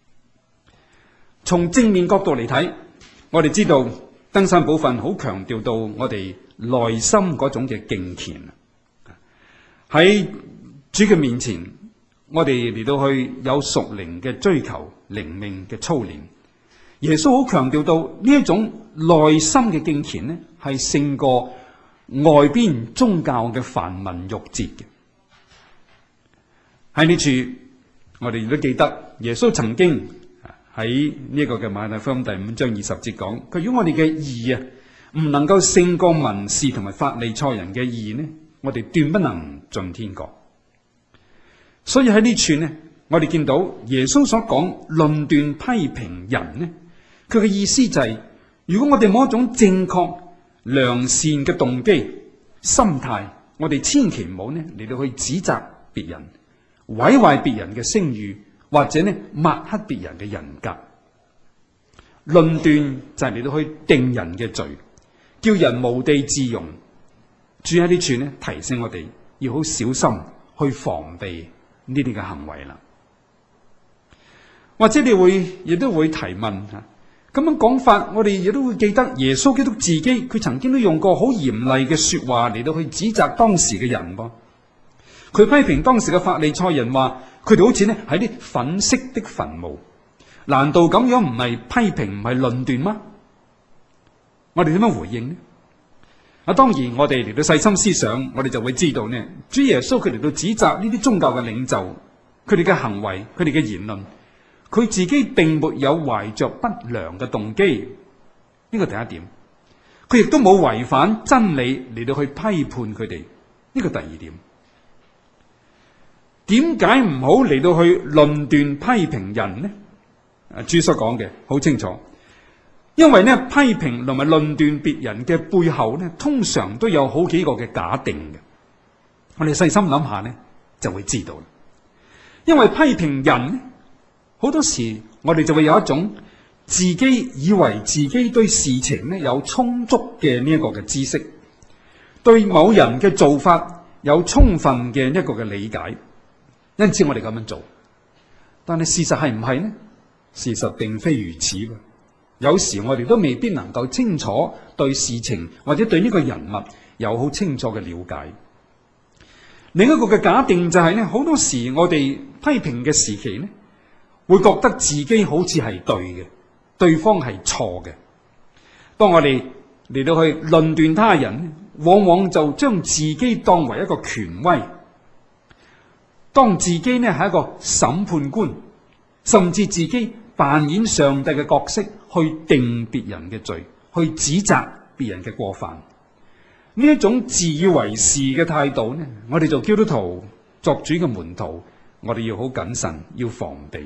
Speaker 2: 從正面角度嚟睇，我哋知道登山寶訓好強調到我哋內心嗰種嘅敬虔。喺主嘅面前，我哋嚟到去有屬靈嘅追求、靈命嘅操練。耶穌好強調到呢一種內心嘅敬虔呢，係勝過外邊宗教嘅繁文縟節嘅。喺呢處，我哋亦都記得耶穌曾經喺呢個嘅馬太福音第5章20節講：佢如果我哋嘅義啊唔能夠勝過文士同埋法利賽人嘅義呢，我哋斷不能進天國。所以喺呢處呢，我哋見到耶穌所講論斷批評人呢，佢嘅意思就係，如果我哋冇一種正確良善嘅動機心態，我哋千祈唔好呢嚟到去指責別人，毀壞別人嘅聲譽，或者呢抹黑別人嘅人格。論斷就係嚟到去定人嘅罪，叫人無地自容。主喺呢處呢提醒我哋要好小心去防備呢啲嘅行為啦。或者你亦都會提問吓，咁樣講法，我哋亦都會記得耶穌基督自己，佢曾經都用過好嚴厲嘅說話嚟到去指責當時嘅人噃。佢批評當時嘅法利賽人話，佢哋好似呢喺啲粉飾的墳墓。難道咁樣唔係批評，唔係論斷嗎？我哋點樣回應呢？當然我哋嚟到細心思想，我哋就會知道呢，主耶穌佢嚟到指責呢啲宗教嘅領袖，佢哋嘅行為，佢哋嘅言論，佢自己並沒有懷着不良嘅動機，呢個第一點。佢亦都冇違反真理嚟到去批判佢哋，呢個第二點。點解唔好嚟到去論斷批評人呢？主所講嘅好清楚，因為呢批評同埋論斷別人嘅背後呢，通常都有好幾個嘅假定嘅。我哋細心諗下呢，就會知道啦。因為批評人呢，好多時我哋就會有一種自己以為自己對事情呢有充足嘅呢一個嘅知識，對某人嘅做法有充分嘅一個嘅理解，因此我哋咁樣做。但係事實係唔係呢？事實並非如此。有時我哋都未必能夠清楚對事情或者對呢個人物有好清楚嘅了解。另一個嘅假定就係呢，好多時我哋批評嘅時期呢，會覺得自己好似係對嘅，對方係錯嘅。當我哋嚟到去論斷他人，往往就將自己當為一個權威，當自己呢係一個審判官，甚至自己扮演上帝嘅角色，去定別人嘅罪，去指責別人嘅過犯。呢一種自以為是嘅態度呢，我哋做基督徒作主嘅門徒，我哋要好謹慎，要防備。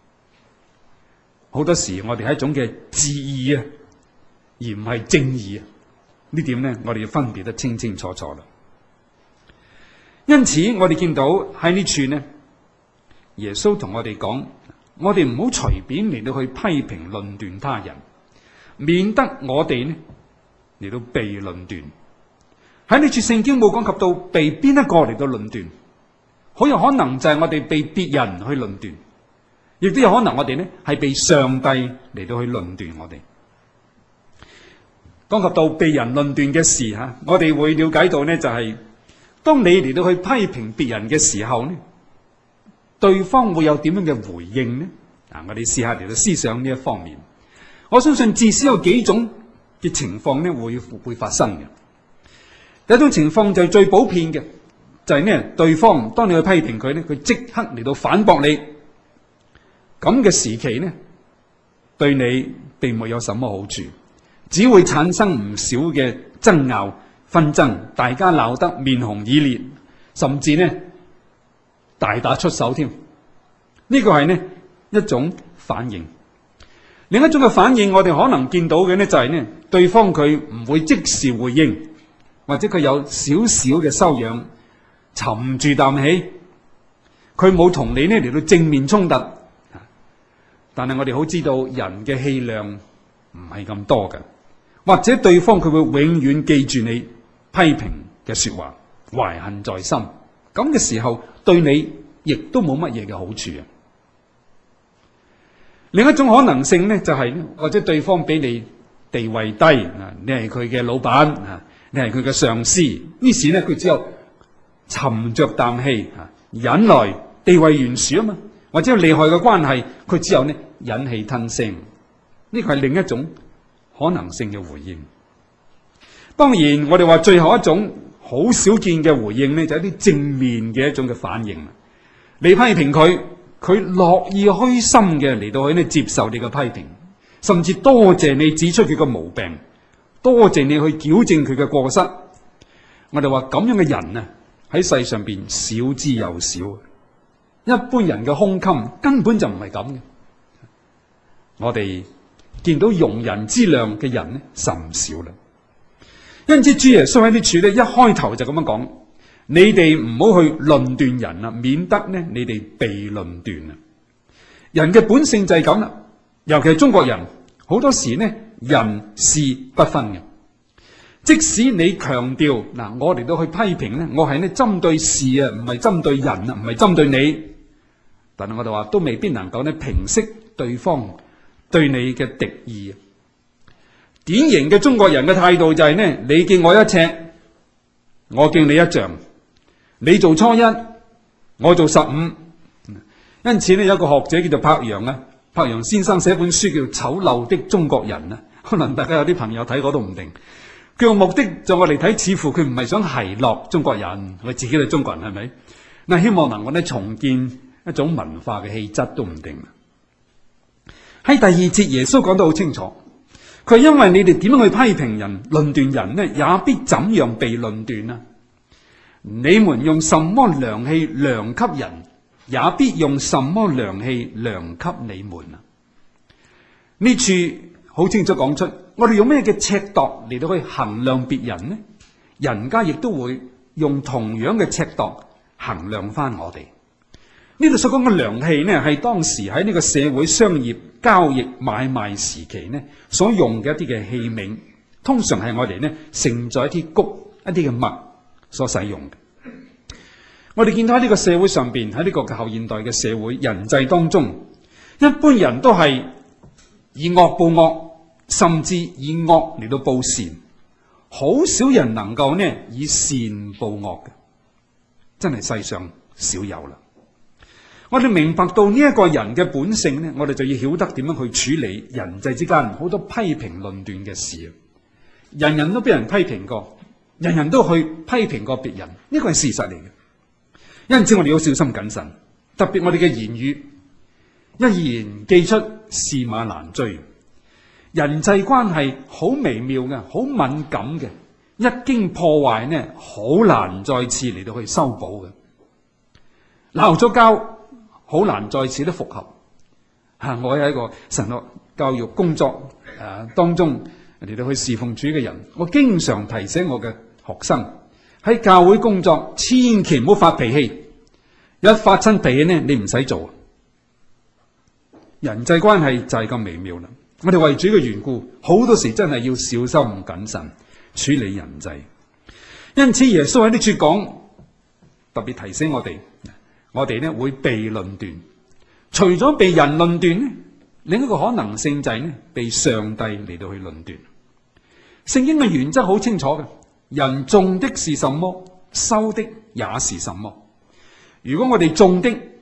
Speaker 2: 好多時我哋係一種嘅自義啊，而唔係正義啊。呢點呢，我哋要分別得清清楚楚啦。因此我哋見到喺呢處呢，耶穌同我哋講，我哋唔好隨便嚟到去批評論斷他人，免得我哋呢嚟到被論斷。喺呢處聖經冇講及到被邊一個嚟到論斷，好有可能就係我哋被別人去論斷，亦都有可能我哋呢係被上帝嚟到去論斷我哋。講及到被人論斷嘅事吓，我哋會了解到呢，就係當你嚟到去批評別人嘅時候呢， 對方會有點樣嘅回應呢？我哋試下嚟到思想呢一方面。我相信至少有幾種嘅情況呢會發生嘅。第一種情況就係最普遍嘅，就係呢，對方當你去批評佢呢，佢即刻嚟到反駁你。咁嘅時期呢，對你並沒有什麼好處，只會產生唔少嘅爭拗紛爭，大家鬧得面紅耳烈，甚至呢大打出手添。呢個係呢一種反應。另一種嘅反應，我哋可能見到嘅呢就係呢，對方佢唔會即時回應，或者佢有少少嘅修養，沉住啖氣，佢冇同你呢嚟到正面衝突。但係我哋好知道人嘅氣量唔係咁多嘅，或者對方佢會永遠記住你批評嘅說話，懷恨在心。咁嘅時候對你亦都冇乜嘢嘅好處啊。另一種可能性呢，就係或者對方比你地位低，你係佢嘅老闆，你係佢嘅上司，於是呢佢只有沉着啖氣，忍耐，地位懸殊啊嘛，或者有利害嘅關係，佢只有呢忍氣吞聲。呢個係另一種可能性嘅回應。當然我哋話最後一種好少見嘅回應呢，就係一啲正面嘅一種嘅反應。你批評佢，佢樂意虛心嘅嚟到去呢接受你嘅批評，甚至多謝你指出佢嘅毛病，多謝你去矯正佢嘅過失。我哋話咁樣嘅人啊，喺世上邊少之又少。一般人嘅胸襟根本就唔係咁嘅。我哋見到容人之量嘅人呢，甚少啦。因此主耶穌喺呢處呢，一開頭就咁樣講：你哋唔好去論斷人啦，免得呢你哋被論斷啊。人嘅本性就係咁啦，尤其係中國人，好多時呢人事不分嘅。即使你強調我嚟到去批評呢，我係呢針對事啊，唔係針對人啊，唔係針對你。但係我哋話都未必能夠呢平息對方對你嘅敵意。典型嘅中國人嘅態度就係呢：你敬我一尺，我敬你一丈；你做初一，我做15。因此呢，有一個學者叫做柏楊啊，柏楊先生寫本書叫《醜陋的中國人》啊，可能大家有啲朋友睇過都唔定。佢個目的就我嚟睇，似乎佢唔係想奚落中國人，佢自己係中國人係咪？嗱，希望能夠呢重建一種文化嘅氣質都唔定。喺第二節耶穌講得好清楚，佢因為你哋點樣去批評人、論斷人呢，也必怎樣被論斷啊！你們用什麼量器量給人，也必用什麼量器量給你們啊！呢處好清楚講出，我哋用咩嘅尺度嚟到去衡量別人呢？人家亦都會用同樣嘅尺度衡量翻我哋。呢度所講嘅量器呢，係當時喺呢個社會商業交易買賣時期呢所用嘅一啲嘅器皿，通常係我哋呢盛載一啲穀、一啲嘅麥所使用嘅。我哋見到喺呢個社會上邊，喺呢個後現代嘅社會人際當中，一般人都係以惡報惡，甚至以惡嚟到報善，好少人能夠呢以善報惡嘅，真係世上少有啦。我哋明白到呢一個人嘅本性呢，我哋就要曉得點樣去處理人際之間好多批評論斷嘅事。人人都俾人批評過，人人都去批評過別人，呢個係事實嚟嘅。因此我哋要小心謹慎，特別我哋嘅言語，一言既出，駟馬難追。人際關係好微妙嘅，好敏感嘅，一經破壞呢，好難再次嚟到去修補嘅。鬧咗交，好難再次都復合。我係一個神學教育工作當中嚟到去侍奉主嘅人，我經常提醒我嘅學生喺教會工作，千祈唔好發脾氣。一發親脾氣呢，你唔使做。人際關係就係咁微妙啦。我哋為主嘅緣故，好多時真係要小心謹慎處理人際。因此耶穌喺呢處講，特別提醒我哋呢會被論斷。除咗被人論斷，另一個可能性就係呢被上帝嚟到去論斷。聖經嘅原則好清楚嘅，人種的是什麼，收的也是什麼。如果我哋種的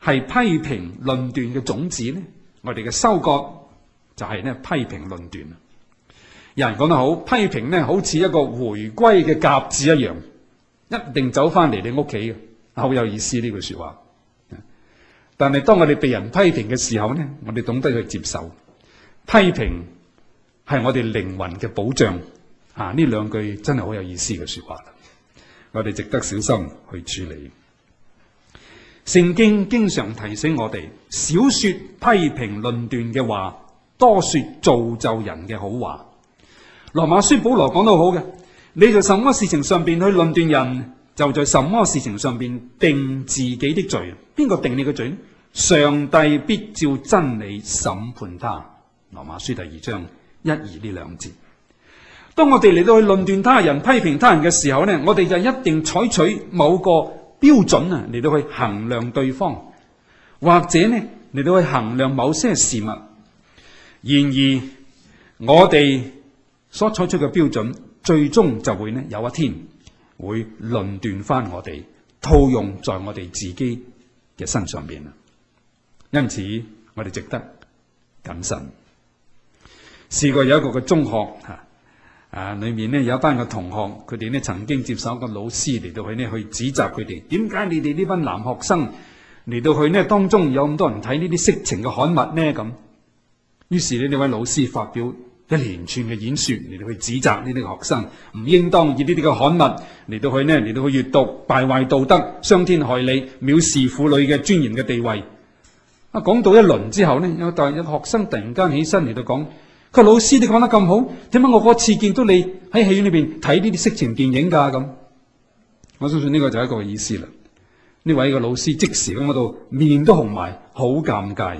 Speaker 2: 係批評論斷嘅種子呢，我哋嘅收割就係呢批評論斷。有人講得好，批評呢好似一個回歸嘅鴿子一樣，一定走翻嚟你屋企嘅，好有意思呢句說話。但係當我哋被人批評嘅時候呢，我哋懂得去接受。批評係我哋靈魂嘅保障。呢兩句真係好有意思嘅說話，我哋值得小心去處理。聖經經常提醒我哋，少說批評論斷嘅話，多說造就人嘅好話。羅馬書保羅講得好嘅，你在什麼事情上邊去論斷人，就在什麼事情上邊定自己的罪。邊個定你嘅罪？上帝必照真理審判他。羅馬書第2章1、2呢兩節。當我哋嚟到去論斷他人、批評他人嘅時候呢，我哋就一定採取某個標準嚟到去衡量對方，或者呢嚟到去衡量某些事物。然而我哋所採取嘅標準，最終就會呢有一天會論斷翻我哋，套用在我哋自己嘅身上邊。因此我哋值得謹慎。試過有一個嘅中學裏面呢有一班嘅同學，佢哋呢曾經接受一個老師嚟到去指責佢哋，點解你哋呢班男學生嚟到去呢當中有咁多人睇呢啲色情嘅刊物呢？咁於是呢位老師發表一連串嘅演說嚟到去指責呢啲學生唔應當以呢啲嘅刊物嚟到去閱讀，敗壞道德，傷天害理，藐視婦女嘅尊嚴嘅地位。講到一輪之後呢，有學生突然間起身嚟到講，佢話老師你講得咁好，點解我嗰次見到你喺戲院裏邊睇呢啲色情電影㗎？咁我相信呢個就係一個意思啦。呢位個老師即時咁嗰度面都紅埋，好尷尬。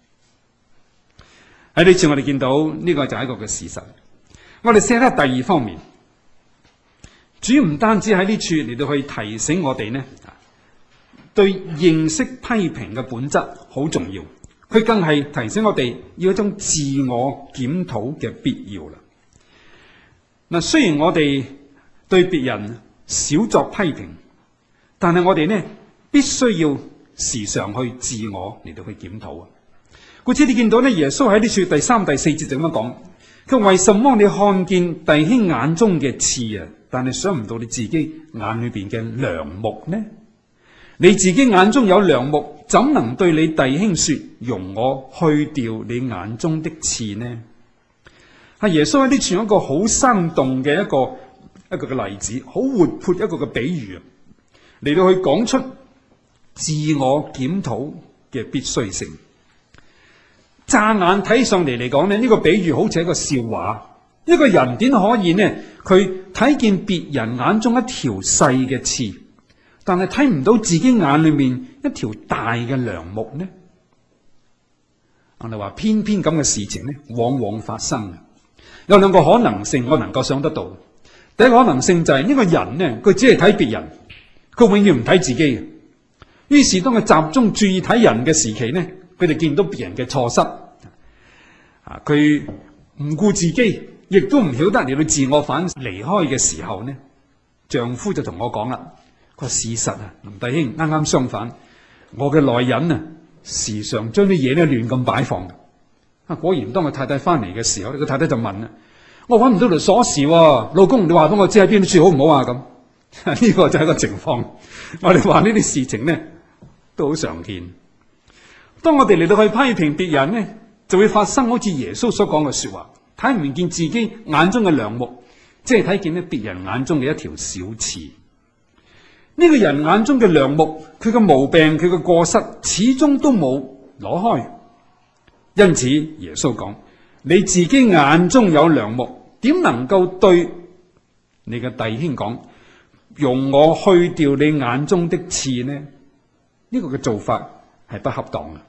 Speaker 2: 喺呢次我哋見到呢個就係一個嘅事實。我哋寫睇第二方面，主唔單止喺呢處嚟到去提醒我哋呢，對認識批評嘅本質好重要，佢更係提醒我哋要一種自我檢討嘅必要啦。嗱，雖然我哋對別人少作批評，但係我哋呢必須要時常去自我嚟到去檢討啊。故此你見到呢，耶穌喺呢處第3、第4節就咁樣講，佢為什麼你看見弟兄眼中嘅刺啊，但係想唔到你自己眼裏邊嘅梁木呢？你自己眼中有梁木，怎能對你弟兄說，容我去掉你眼中的刺呢？耶穌喺呢處有一個好生動嘅一個嘅例子，好活潑一個嘅比喻嚟到去講出自我檢討嘅必須性。乍眼睇上嚟嚟講呢，呢個比喻好似一個笑話。一個人點可以呢？佢睇見別人眼中一條細嘅刺，但係睇唔到自己眼裏面一條大嘅梁木呢？我哋話偏偏咁嘅事情呢，往往發生。有兩個可能性我能夠想得到。第一個可能性就係呢個人呢，佢只係睇別人，佢永遠唔睇自己嘅。於是當佢集中注意睇人嘅時期呢，佢哋見到別人嘅錯失，佢唔顧自己，亦都唔曉得嚟到自我反省。離開嘅時候呢，丈夫就同我講啦，佢話事實啊，林弟兄啱啱相反，我嘅內人啊，時常將啲嘢呢亂咁擺放。果然當佢太太翻嚟嘅時候，個太太就問啦，我揾唔到條鎖匙喎，老公你話俾我知喺邊處好唔好啊？咁呢個就係一個情況。我哋話呢啲事情呢都好常見。當我哋嚟到去批評別人呢，就會發生好似耶穌所講嘅說話，睇唔見自己眼中嘅梁木，即係睇見呢別人眼中嘅一條小刺。呢個人眼中嘅梁木，佢嘅毛病，佢嘅過失，始終都冇攞開。因此耶穌講，你自己眼中有梁木，點能夠對你嘅弟兄講，容我去掉你眼中的刺呢？呢個嘅做法係不恰當嘅。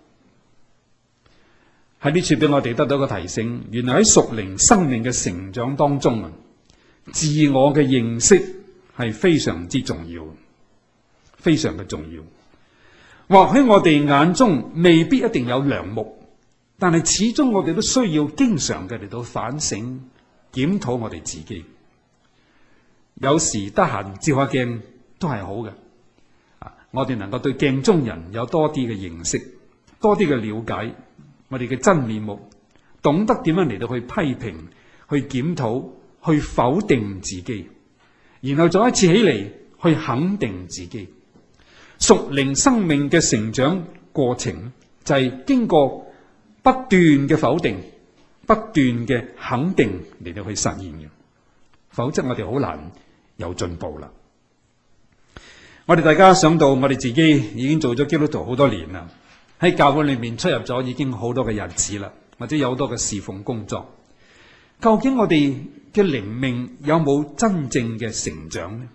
Speaker 2: 喺呢處俾我哋得到一個提醒，原來喺屬靈生命嘅成長當中啊，自我嘅認識係非常之重要，非常嘅重要。或許我哋眼中未必一定有梁木，但係始終我哋都需要經常嘅嚟到反省檢討我哋自己。有時得閒照下鏡都係好嘅。 我哋能夠對鏡中人有多啲嘅認識，多啲嘅了解我哋嘅真面目，懂得點樣嚟到去批評、去檢討、去否定自己，然後再一次起嚟去肯定自己。屬靈生命嘅成長過程就係經過不斷嘅否定、不斷嘅肯定嚟到去實現嘅，否則我哋好難有進步啦。我哋大家想到我哋自己已經做咗基督徒好多年啦，喺教會裏面出入咗已經好多嘅日子啦，或者有好多嘅侍奉工作，究竟我哋嘅靈命有冇真正嘅成長呢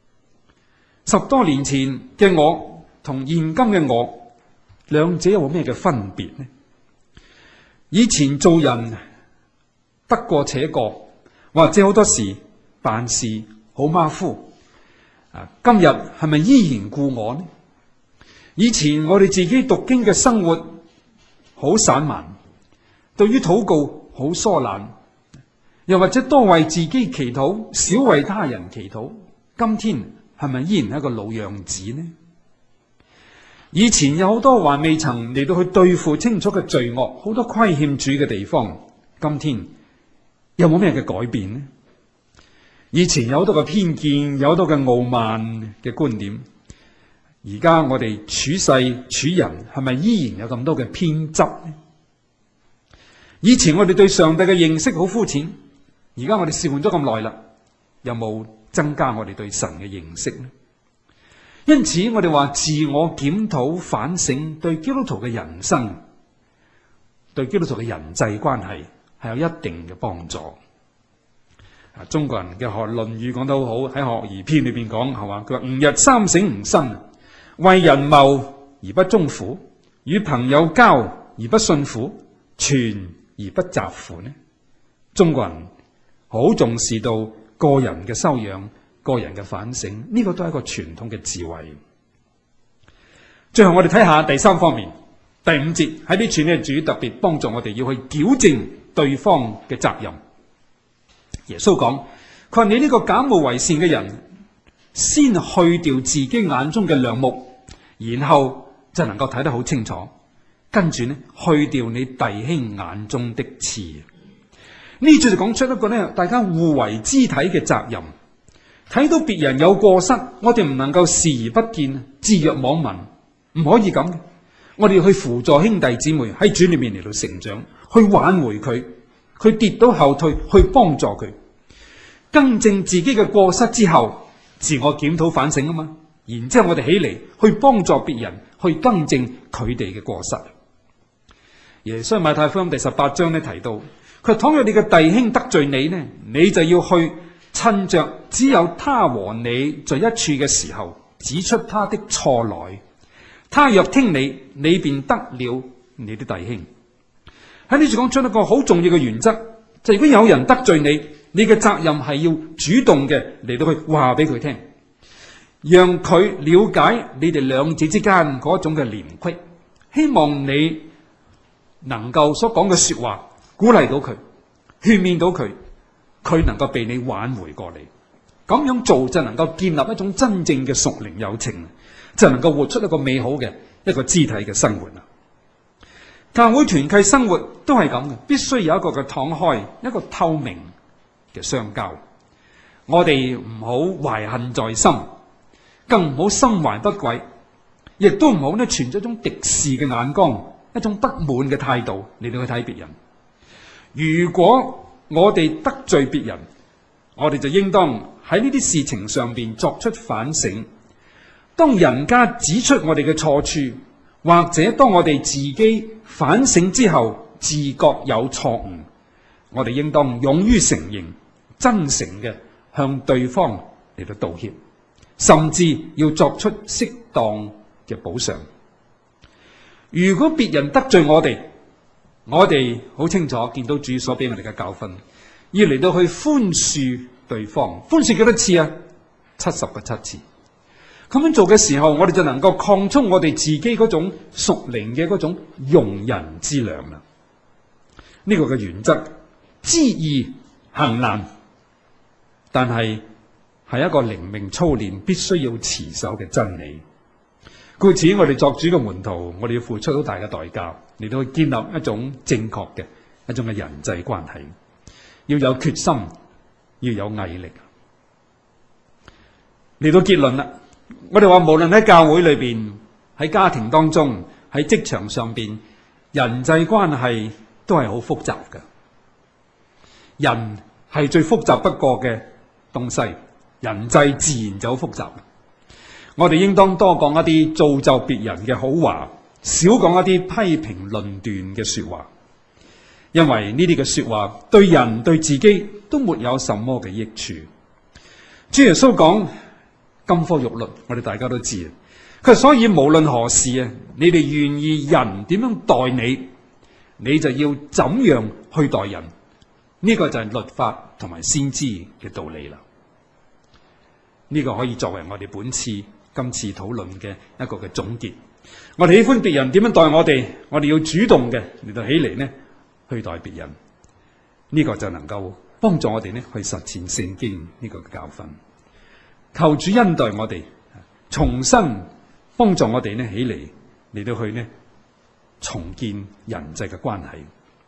Speaker 2: ？10多年前嘅我同現今嘅我，兩者有冇咩嘅分別呢？以前做人得過且過，或者好多時辦事好馬虎，今日係咪依然故我呢？以前我哋自己讀經嘅生活好散漫，對於禱告好疏懶，又或者多為自己祈禱，少為他人祈禱，今天係咪依然係一個老樣子呢？以前有好多還未曾嚟到去對付清楚嘅罪惡，好多虧欠主嘅地方，今天有冇咩嘅改變呢？以前有好多嘅偏見，有好多嘅傲慢嘅觀點，而家我哋處世處人係咪依然有咁多嘅偏執呢？以前我哋對上帝嘅認識好膚淺，而家我哋侍奉咗咁耐啦，有冇增加我哋對神嘅認識呢？因此我哋話自我檢討反省對基督徒嘅人生，對基督徒嘅人際關係係有一定嘅幫助。中國人嘅學《論語》講得好好，喺學而篇裏邊講係嘛，佢話吾日三省吾身，為人謀而不忠乎？與朋友交而不信乎？傳而不習乎呢？中國人好重視到個人嘅修養、個人嘅反省，呢個都係一個傳統嘅智慧。最後我哋睇下第三方面，第5節喺呢處呢，主特別幫助我哋要去矯正對方嘅責任。耶穌講，佢話你呢個假冒為善嘅人，先去掉自己眼中嘅梁木，然後就能夠睇得好清楚。跟住呢，去掉你弟兄眼中的刺。呢處就講出一個呢，大家互為肢體嘅責任。睇到別人有過失，我哋唔能夠視而不見，置若罔聞，唔可以咁。我哋要去輔助兄弟姊妹喺主裏面嚟到成長，去挽回佢，佢跌到後退，去幫助佢，更正自己嘅過失之後，自我檢討反省啊嘛。然之後我哋起嚟去幫助別人，去更正佢哋嘅過失。耶穌馬太福音第18章呢提到，佢倘若你嘅弟兄得罪你呢，你就要去趁着只有他和你在一處嘅時候，指出他的錯來。他若聽你，你便得了你的弟兄。喺呢處講出一個好重要嘅原則，就如果有人得罪你，你嘅責任係要主動嘅嚟到去話俾佢聽，讓佢了解你哋兩者之間嗰種嘅連隙，希望你能夠所講嘅說話鼓勵到佢，勸勉到佢，佢能夠被你挽回過嚟。咁樣做就能夠建立一種真正嘅屬靈友情，就能夠活出一個美好嘅一個肢體嘅生活啦。教會團契生活都係咁嘅，必須有一個嘅敞開，一個透明嘅相交。我哋唔好懷恨在心，更唔好心懷不軌，亦都唔好呢存咗一種敵視嘅眼光，一種不滿嘅態度嚟到去睇別人。如果我哋得罪別人，我哋就應當喺呢啲事情上邊作出反省。當人家指出我哋嘅錯處，或者當我哋自己反省之後自覺有錯誤，我哋應當勇於承認，真誠嘅向對方嚟到道歉，甚至要作出適當嘅補償。如果別人得罪我哋好清楚見到主所俾我哋嘅教訓，要嚟到去寬恕對方。寬恕幾多次啊？70個7次。咁樣做嘅時候，我哋就能夠擴充我哋自己嗰種屬靈嘅嗰種容人之量啦。呢個嘅原則，知易行難，但係一個靈命操練必須要持守嘅真理。 故此我哋作主嘅門徒，我哋要付出好大嘅代價嚟到去建立一種正確嘅一種嘅人際關係，要有決心，要有毅力。嚟到結論啦，我哋話無論喺教會裏邊、喺家庭當中、喺職場上邊，人際關係都係好複雜嘅。人係最複雜不過嘅東西，人際自然就好複雜。我哋應當多講一啲造就別人嘅好話，少講一啲批評論斷嘅說話，因為呢啲嘅說話對人對自己都沒有什麼嘅益處。主耶穌講金科玉律，我哋大家都知。佢所以無論何事啊，你哋願意人點樣待你，你就要怎樣去待人。呢個就係律法同埋先知嘅道理啦。呢個可以作為我哋今次討論嘅一個嘅總結。我哋喜歡別人點樣待我哋，我哋要主動嘅嚟到起嚟呢去待別人。呢個就能夠幫助我哋呢去實踐聖經呢個教訓。求主恩待我哋，重新幫助我哋呢起嚟到去呢重建人際嘅關係。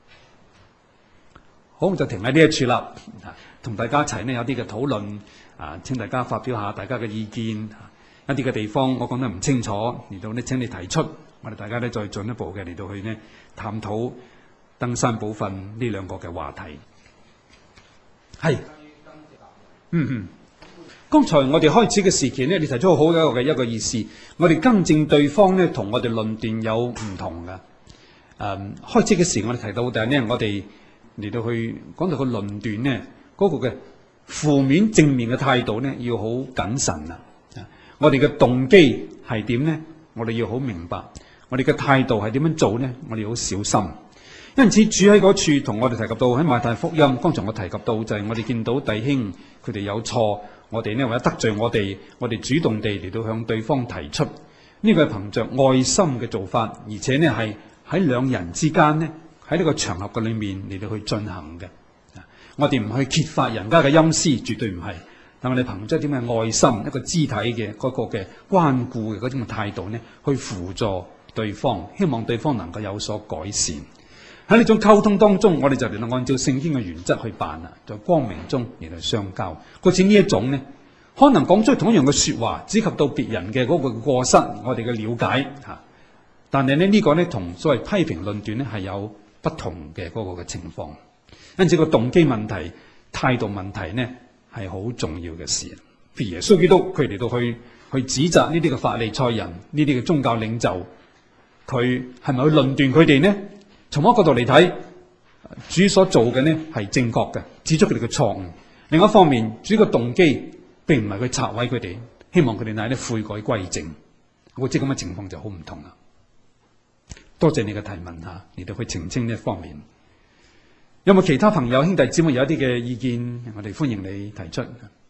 Speaker 2: 好，就停喺呢一處啦。同大家一齊呢有啲嘅討論請大家發表下大家嘅意見。一啲嘅地方我講得唔清楚，嚟到呢請你提出，我哋大家呢再進一步嘅嚟到去呢探討登山寶訓呢兩個嘅話題。係，剛才我哋開始嘅時期呢，你提出好好嘅一個意思，我哋更正對方呢同我哋論斷有唔同嘅。開始嘅時我哋提到，但係呢我哋嚟到去講到個論斷呢嗰個嘅負面正面嘅態度呢要好謹慎啊！我哋嘅動機係點呢？我哋要好明白。我哋嘅態度係點樣做呢？我哋要好小心。因此主喺嗰處同我哋提及到喺馬太福音，剛才我提及到就係我哋見到弟兄佢哋有錯，我哋呢為咗得罪我哋主動地嚟到向對方提出，呢個係憑着愛心嘅做法，而且呢係喺兩人之間呢喺呢個場合嘅裏面嚟到去進行嘅。我哋唔去揭發人家嘅陰私，絕對唔係。但我哋憑着點嘅愛心，一個肢體嘅嗰個嘅關顧嘅嗰種嘅態度呢，去輔助對方，希望對方能夠有所改善。喺呢種溝通當中，我哋就嚟到按照聖經嘅原則去辦啦，在光明中嚟到相交。好似呢一種呢，可能講出同一樣嘅說話，只及到別人嘅嗰個過失，我哋嘅了解吓。但係呢個呢，同所謂批評論斷呢係有不同嘅嗰個嘅情況。因此個動機問題、態度問題呢，係好重要嘅事。譬如耶穌基督佢嚟到去指責呢啲嘅法利賽人、呢啲嘅宗教領袖，佢係咪去論斷佢哋呢？從一個角度嚟睇，主所做嘅呢係正確嘅，指出佢哋嘅錯誤。另一方面，主嘅動機並唔係去拆毀佢哋，希望佢哋乃啲悔改歸正。我知咁嘅情況就好唔同啦。多謝你嘅提問吓，嚟到去澄清呢一方面。有冇其他朋友兄弟姊妹有一啲嘅意見？我哋歡迎你提出。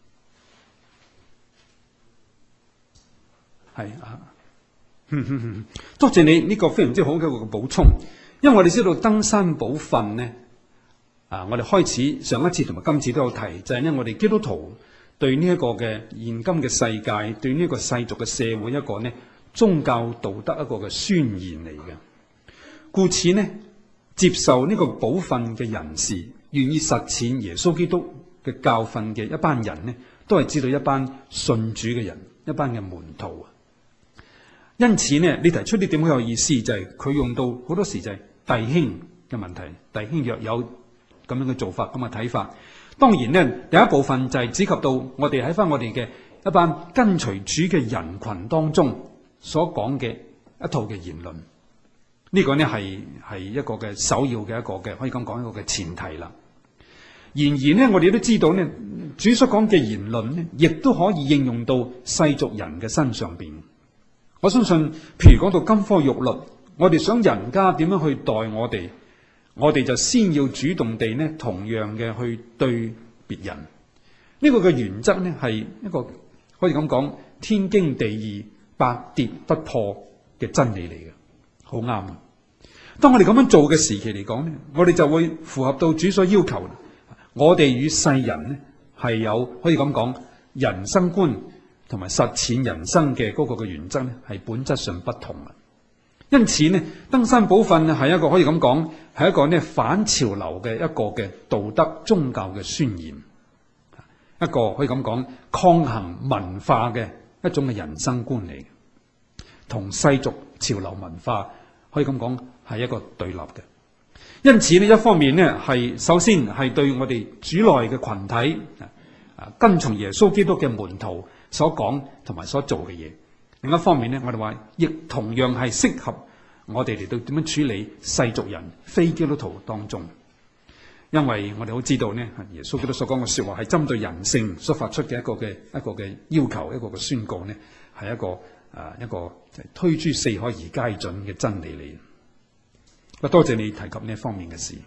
Speaker 2: 係啊，多謝你呢個非常之好嘅一個補充。因為我哋知道登山寶訓呢，我哋開始上一次同埋今次都有提，就係呢我哋基督徒對呢一個嘅現今嘅世界，對呢一個世俗嘅社會一個呢宗教道德一個嘅宣言嚟嘅。故此呢，接受呢個寶訓嘅人士，願意實踐耶穌基督嘅教訓嘅一班人呢，都係知道一班信主嘅人，一班嘅門徒啊。因此呢，你提出呢點好有意思，就係佢用到好多時就係弟兄嘅問題，弟兄若有咁樣嘅做法，咁嘅睇法。當然呢，第一部分就係指及到我哋喺翻我哋嘅一班跟隨主嘅人群當中所講嘅一套嘅言論。呢個呢係一個嘅首要嘅一個嘅可以咁講一個嘅前提啦。然而呢，我哋都知道呢，主所講嘅言論呢，亦都可以應用到世俗人嘅身上邊。我相信，譬如講到金科玉律，我哋想人家點樣去待我哋就先要主動地呢，同樣嘅去對別人。呢個嘅原則呢，係一個可以咁講天經地義、百跌不破嘅真理嚟嘅，好啱啊！當我哋咁樣做嘅時期嚟講呢，我哋就會符合到主所要求。我哋與世人呢係有可以咁講人生觀、 同埋實踐人生嘅嗰個嘅原則呢，係本質上不同啦。因此呢，登山寶訓係一個可以咁講，係一個呢反潮流嘅一個嘅道德宗教嘅宣言，一個可以咁講抗衡文化嘅一種嘅人生觀嚟，同世俗潮流文化可以咁講係一個對立嘅。因此呢，一方面呢係首先係對我哋主內嘅群體跟從耶穌基督嘅門徒所講同埋所做嘅嘢。另一方面呢，我哋話亦同樣係適合我哋嚟到點樣處理世俗人、非基督徒當中。因為我哋好知道呢，耶穌基督所講嘅說話係針對人性所發出嘅一個嘅要求，一個嘅宣告呢，係一個推諸四海而皆準嘅真理嚟。多謝你提及呢一方面嘅事。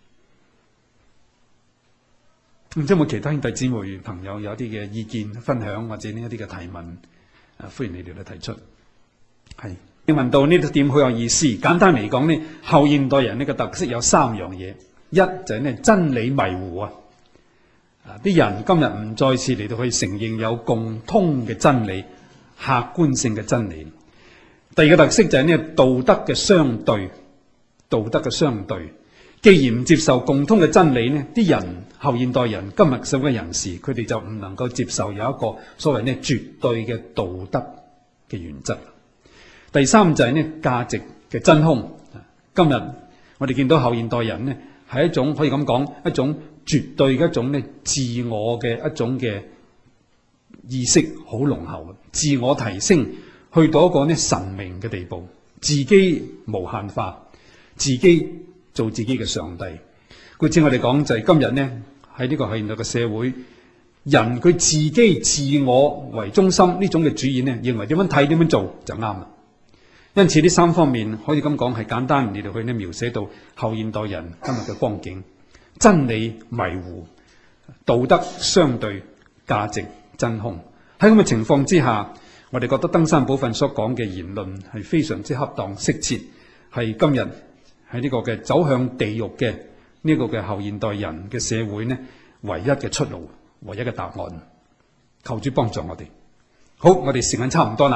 Speaker 2: 唔知有冇其他兄弟姊妹朋友有啲嘅意見分享，或者呢一啲嘅提問？歡迎你哋嚟提出。係你問到呢個點好有意思。簡單嚟講呢，後現代人呢個特色有三樣嘢。一就係呢真理迷糊啊！啲人今日唔再次嚟到去承認有共通嘅真理、客觀性嘅真理。第二個特色就係呢道德嘅相對，道德嘅相對。既然唔接受共通嘅真理呢，啲人後現代人今日社會嘅人士，佢哋就唔能夠接受有一個所謂呢絕對嘅道德嘅原則。第三就係呢價值嘅真空。今日我哋見到後現代人呢，係一種可以咁講，一種絕對嘅一種呢自我嘅一種嘅意識好濃厚嘅，自我提升去到一個呢神明嘅地步，自己無限化，自己做自己嘅上帝。故此我哋講就係今日呢喺呢個後現代嘅社會，人佢自己自我為中心呢種嘅主義呢，認為點樣睇點樣做就啱啦。因此呢三方面可以咁講係簡單嚟到去呢描寫到後現代人今日嘅光景：真理迷糊、道德相對、價值真空。喺咁嘅情況之下，我哋覺得登山寶訓所講嘅言論係非常之恰當適切，係今日喺呢個嘅走向地獄嘅呢個嘅後現代人嘅社會呢唯一嘅出路、唯一嘅答案。求主幫助我哋。好，我哋時間差唔多啦。